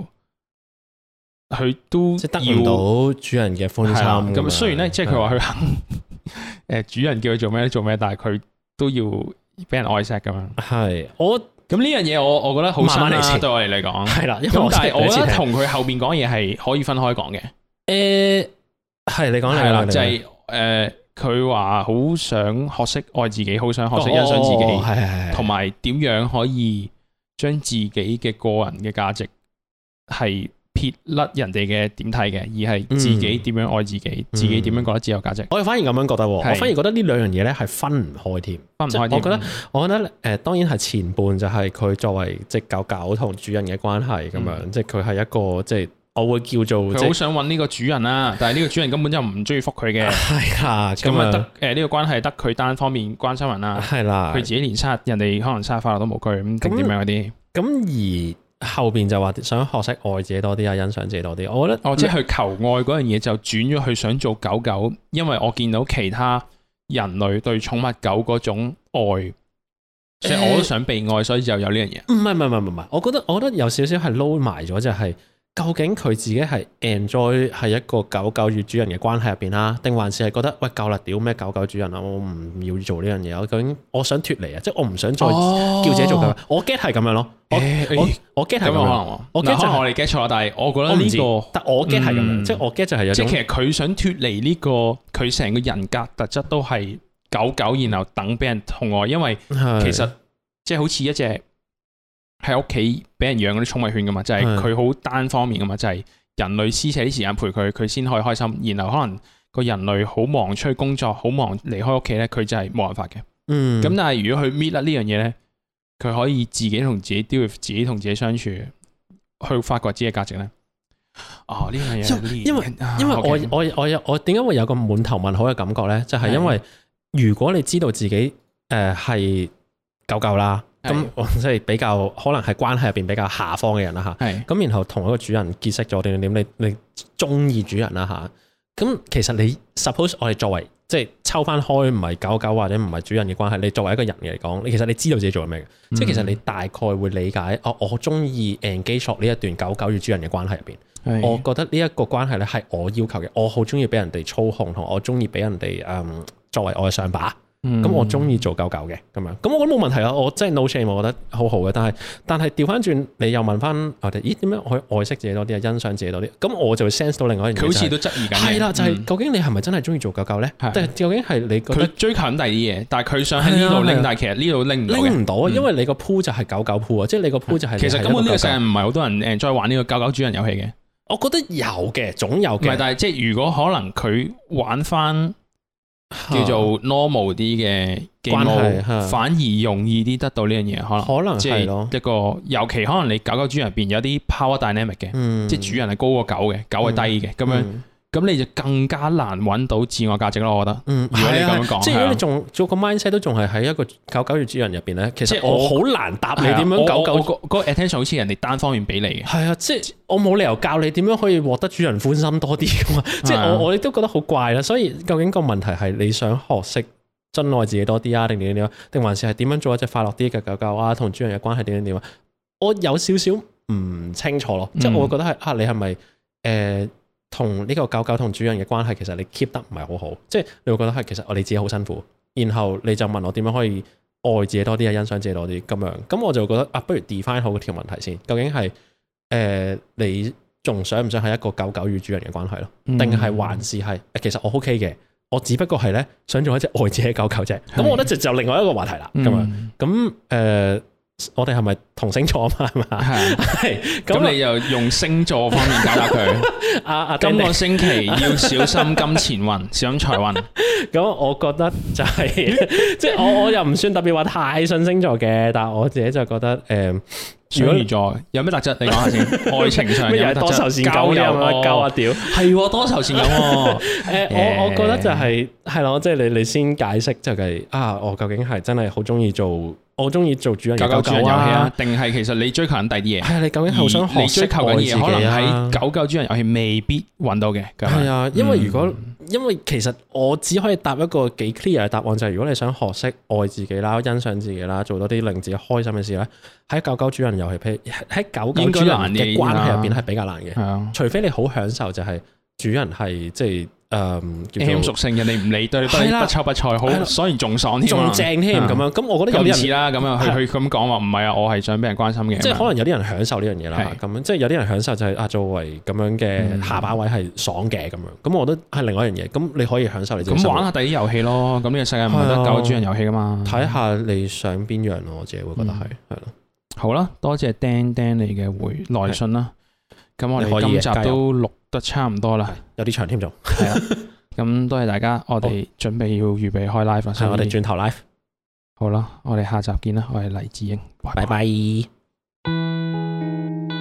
佢都即係得唔到主人嘅歡心。 咁雖然咧，即係佢話佢肯主人叫佢做咩做咩，但係佢都要俾人愛錫咁樣。係咁呢樣嘢，我覺得好深啦，對我嚟講係啦。咁但係我覺得同佢後邊講嘢係可以分開講嘅。 係你講係啦，就係佢話好想學識愛自己，好想學識欣賞自己，同埋點樣可以將自己嘅個人嘅價值係撇甩人哋嘅點睇嘅，而係自己點樣愛自己，自己點樣覺得自有價值。 我反而咁樣覺得喎，我反而覺得呢兩樣嘢咧係分唔開添， 分唔開添。 我覺得當然係前半就係佢作為即狗狗同主人嘅關係咁樣，即佢係一個即我會叫做佢好想揾呢個主人啦，但係呢個主人根本就唔中意覆佢嘅。係啊， 咁啊得呢個關係得佢單方面關心人啦。係啦，佢自己連生日人哋可能生日快樂都冇佢咁定點樣嗰啲。咁而後邊就話想學識愛自己多啲啊，欣賞自己多啲。我覺得即係佢求愛嗰樣嘢就轉咗去想做狗狗，因為我見到其他人類對寵物狗嗰種愛，所以我都想被愛，所以就有呢樣嘢。 唔係，我覺得有少少係撈埋咗，就係究竟佢自己係 enjoy 係一個狗狗與主人嘅關係入邊啦，定還是係覺得喂夠啦，屌咩狗狗主人啊，我唔要做呢樣嘢，究竟我想脫離啊，即係我唔想再叫自己做狗。我 get 係咁樣咯，我 get 係咁樣，我 get 就係我哋 get 錯，但係我覺得呢個， 但我 get 係咁樣，即係我 get 就係有種， 即係其實佢想脫離呢個，佢成個人格特質都係狗狗，然後等俾人疼愛，因為其實即係好似一隻喺屋企俾人養嗰啲寵物犬噶嘛，就係佢好單方面噶嘛，就係人類施捨啲時間陪佢，佢先可以開心。然後可能個人類好忙出去工作，好忙離開屋企咧，佢就係冇辦法嘅。咁但係如果佢搣甩呢樣嘢咧，佢可以自己同自己 deal with 自己同自己相處，去發掘自己嘅價值咧。呢樣嘢， 因為我點解會有個滿頭問號嘅感覺咧？就係因為如果你知道自己係狗狗啦。咁即係比較可能係關係入邊比較下方嘅人啦嚇，咁然後同一個主人結識咗點，你中意主人啦嚇，咁其實你 suppose 我哋作為即係抽翻開唔係狗狗或者唔係主人嘅關係，你作為一個人嚟講，其實你知道自己做緊咩嘅，即係其實你大概會理解，我中意 engage 呢一段狗狗與主人嘅關係入邊，我覺得呢一個關係咧係我要求嘅，我好中意俾人哋操控，同我中意俾人哋作為我嘅上把。咁我中意做狗狗嘅咁樣，咁我覺得冇問題啊！我真係 no shame，我覺得好好嘅。但係調翻轉，你又問翻我哋，咦點樣可以愛惜自己多啲啊？欣賞自己多啲？咁我就會 sense 到另外一樣嘢， 佢好似都質疑緊。係啦，就係究竟你係咪真係中意做狗狗咧？但係究竟係你覺得佢追求緊第二啲嘢，但係佢想喺呢度拎，但係其實呢度拎唔到因為你個 pool 就係狗狗 pool 啊，即係你個 pool 就係其實根本呢個世界唔係好多人再玩呢個狗狗主人遊戲嘅。 我覺得有嘅，總有嘅。 唔係，但係即係如果可能佢玩翻叫做 normal 啲嘅關係，反而容易啲得到呢樣嘢，可能即係一個，尤其可能你狗狗主人入邊有啲 power dynamic 嘅，即係主人係高過狗嘅，狗係低嘅，咁樣咁你就更加難揾到自我價值咯。我覺得，如果你咁樣講， 即係如果你仲做個 mindset 都仲係喺一個狗狗與主人入邊咧，其實我好難答你點樣狗狗嗰個 attention 好似人哋單方面俾你嘅。 係啊，即係我冇理由教你點樣可以獲得主人歡心多啲噶嘛。即係我亦都覺得好怪啦。所以究竟個問題係你想學識珍愛自己多啲啊，定點樣？定還是係點樣做一隻快樂啲嘅狗狗啊？同主人嘅關係點啊？我有少少唔清楚咯。即係我會覺得係你係咪同呢個狗狗同主人嘅關係，其實你 keep 得唔係好好，即係你會覺得係其實我哋自己好辛苦，然後你就問我點樣可以愛自己多啲啊，欣賞自己多啲咁樣，咁我就覺得不如 define 好條問題先，究竟係你仲想唔想係一個狗狗與主人嘅關係咯，定係還是係其實我 OK 嘅，我只不過係咧想做一隻愛自己狗狗啫，咁我覺得就另外一個話題啦，咁樣咁我哋係咪同星座啊嘛？係嘛？係。咁你又用星座方面解答佢。今個星期要小心金錢運，小心財運。咁我覺得就係，即係我又唔算特別話太信星座嘅，但係我自己就覺得雙魚座有咩特質？你講下先。愛情上有咩特質？多愁善感啊！鳩啊屌！係多愁善感喎。我覺得就係咯，即係你先解釋就係我究竟係真係好中意做。我中意做主人嘅狗狗主人遊戲啊，定係其實你追求緊第啲嘢？係啊，你究竟好想學識愛自己啊？可能喺狗狗主人遊戲未必揾到嘅。係啊，因為其實我只可以答一個幾 clear 嘅答案，就係如果你想學識愛自己啦、欣賞自己啦、做多啲令自己開心嘅事咧，喺狗狗主人遊戲，譬如喺狗狗主人嘅關係入邊係比較難嘅。係啊，除非你好享受就係主人係即係。M 屬性人哋唔理，對你不瞅不睬，好所以仲爽添，仲正添咁樣。咁我覺得有啲人似啦，咁樣佢咁講話唔係啊，我係想俾人關心嘅。即係可能有啲人享受呢樣嘢啦，咁樣即係有啲人享受就係作為咁樣嘅下巴位係爽嘅咁樣。咁我覺得係另外一樣嘢。咁你可以享受你自己。咁玩下第啲遊戲咯。咁呢個世界唔係得狗主人遊戲噶嘛？睇下你想邊樣咯，我自己會覺得係咯。 好啦，多謝釘釘你嘅來信啦。咁我哋今集都錄得差唔多啦， 有啲長添仲。 係啊，咁多謝大家，我哋準備要預備開 live 啦，所以我哋轉頭 live。 好啦，我哋下集見啦，我係黎智英， 拜拜。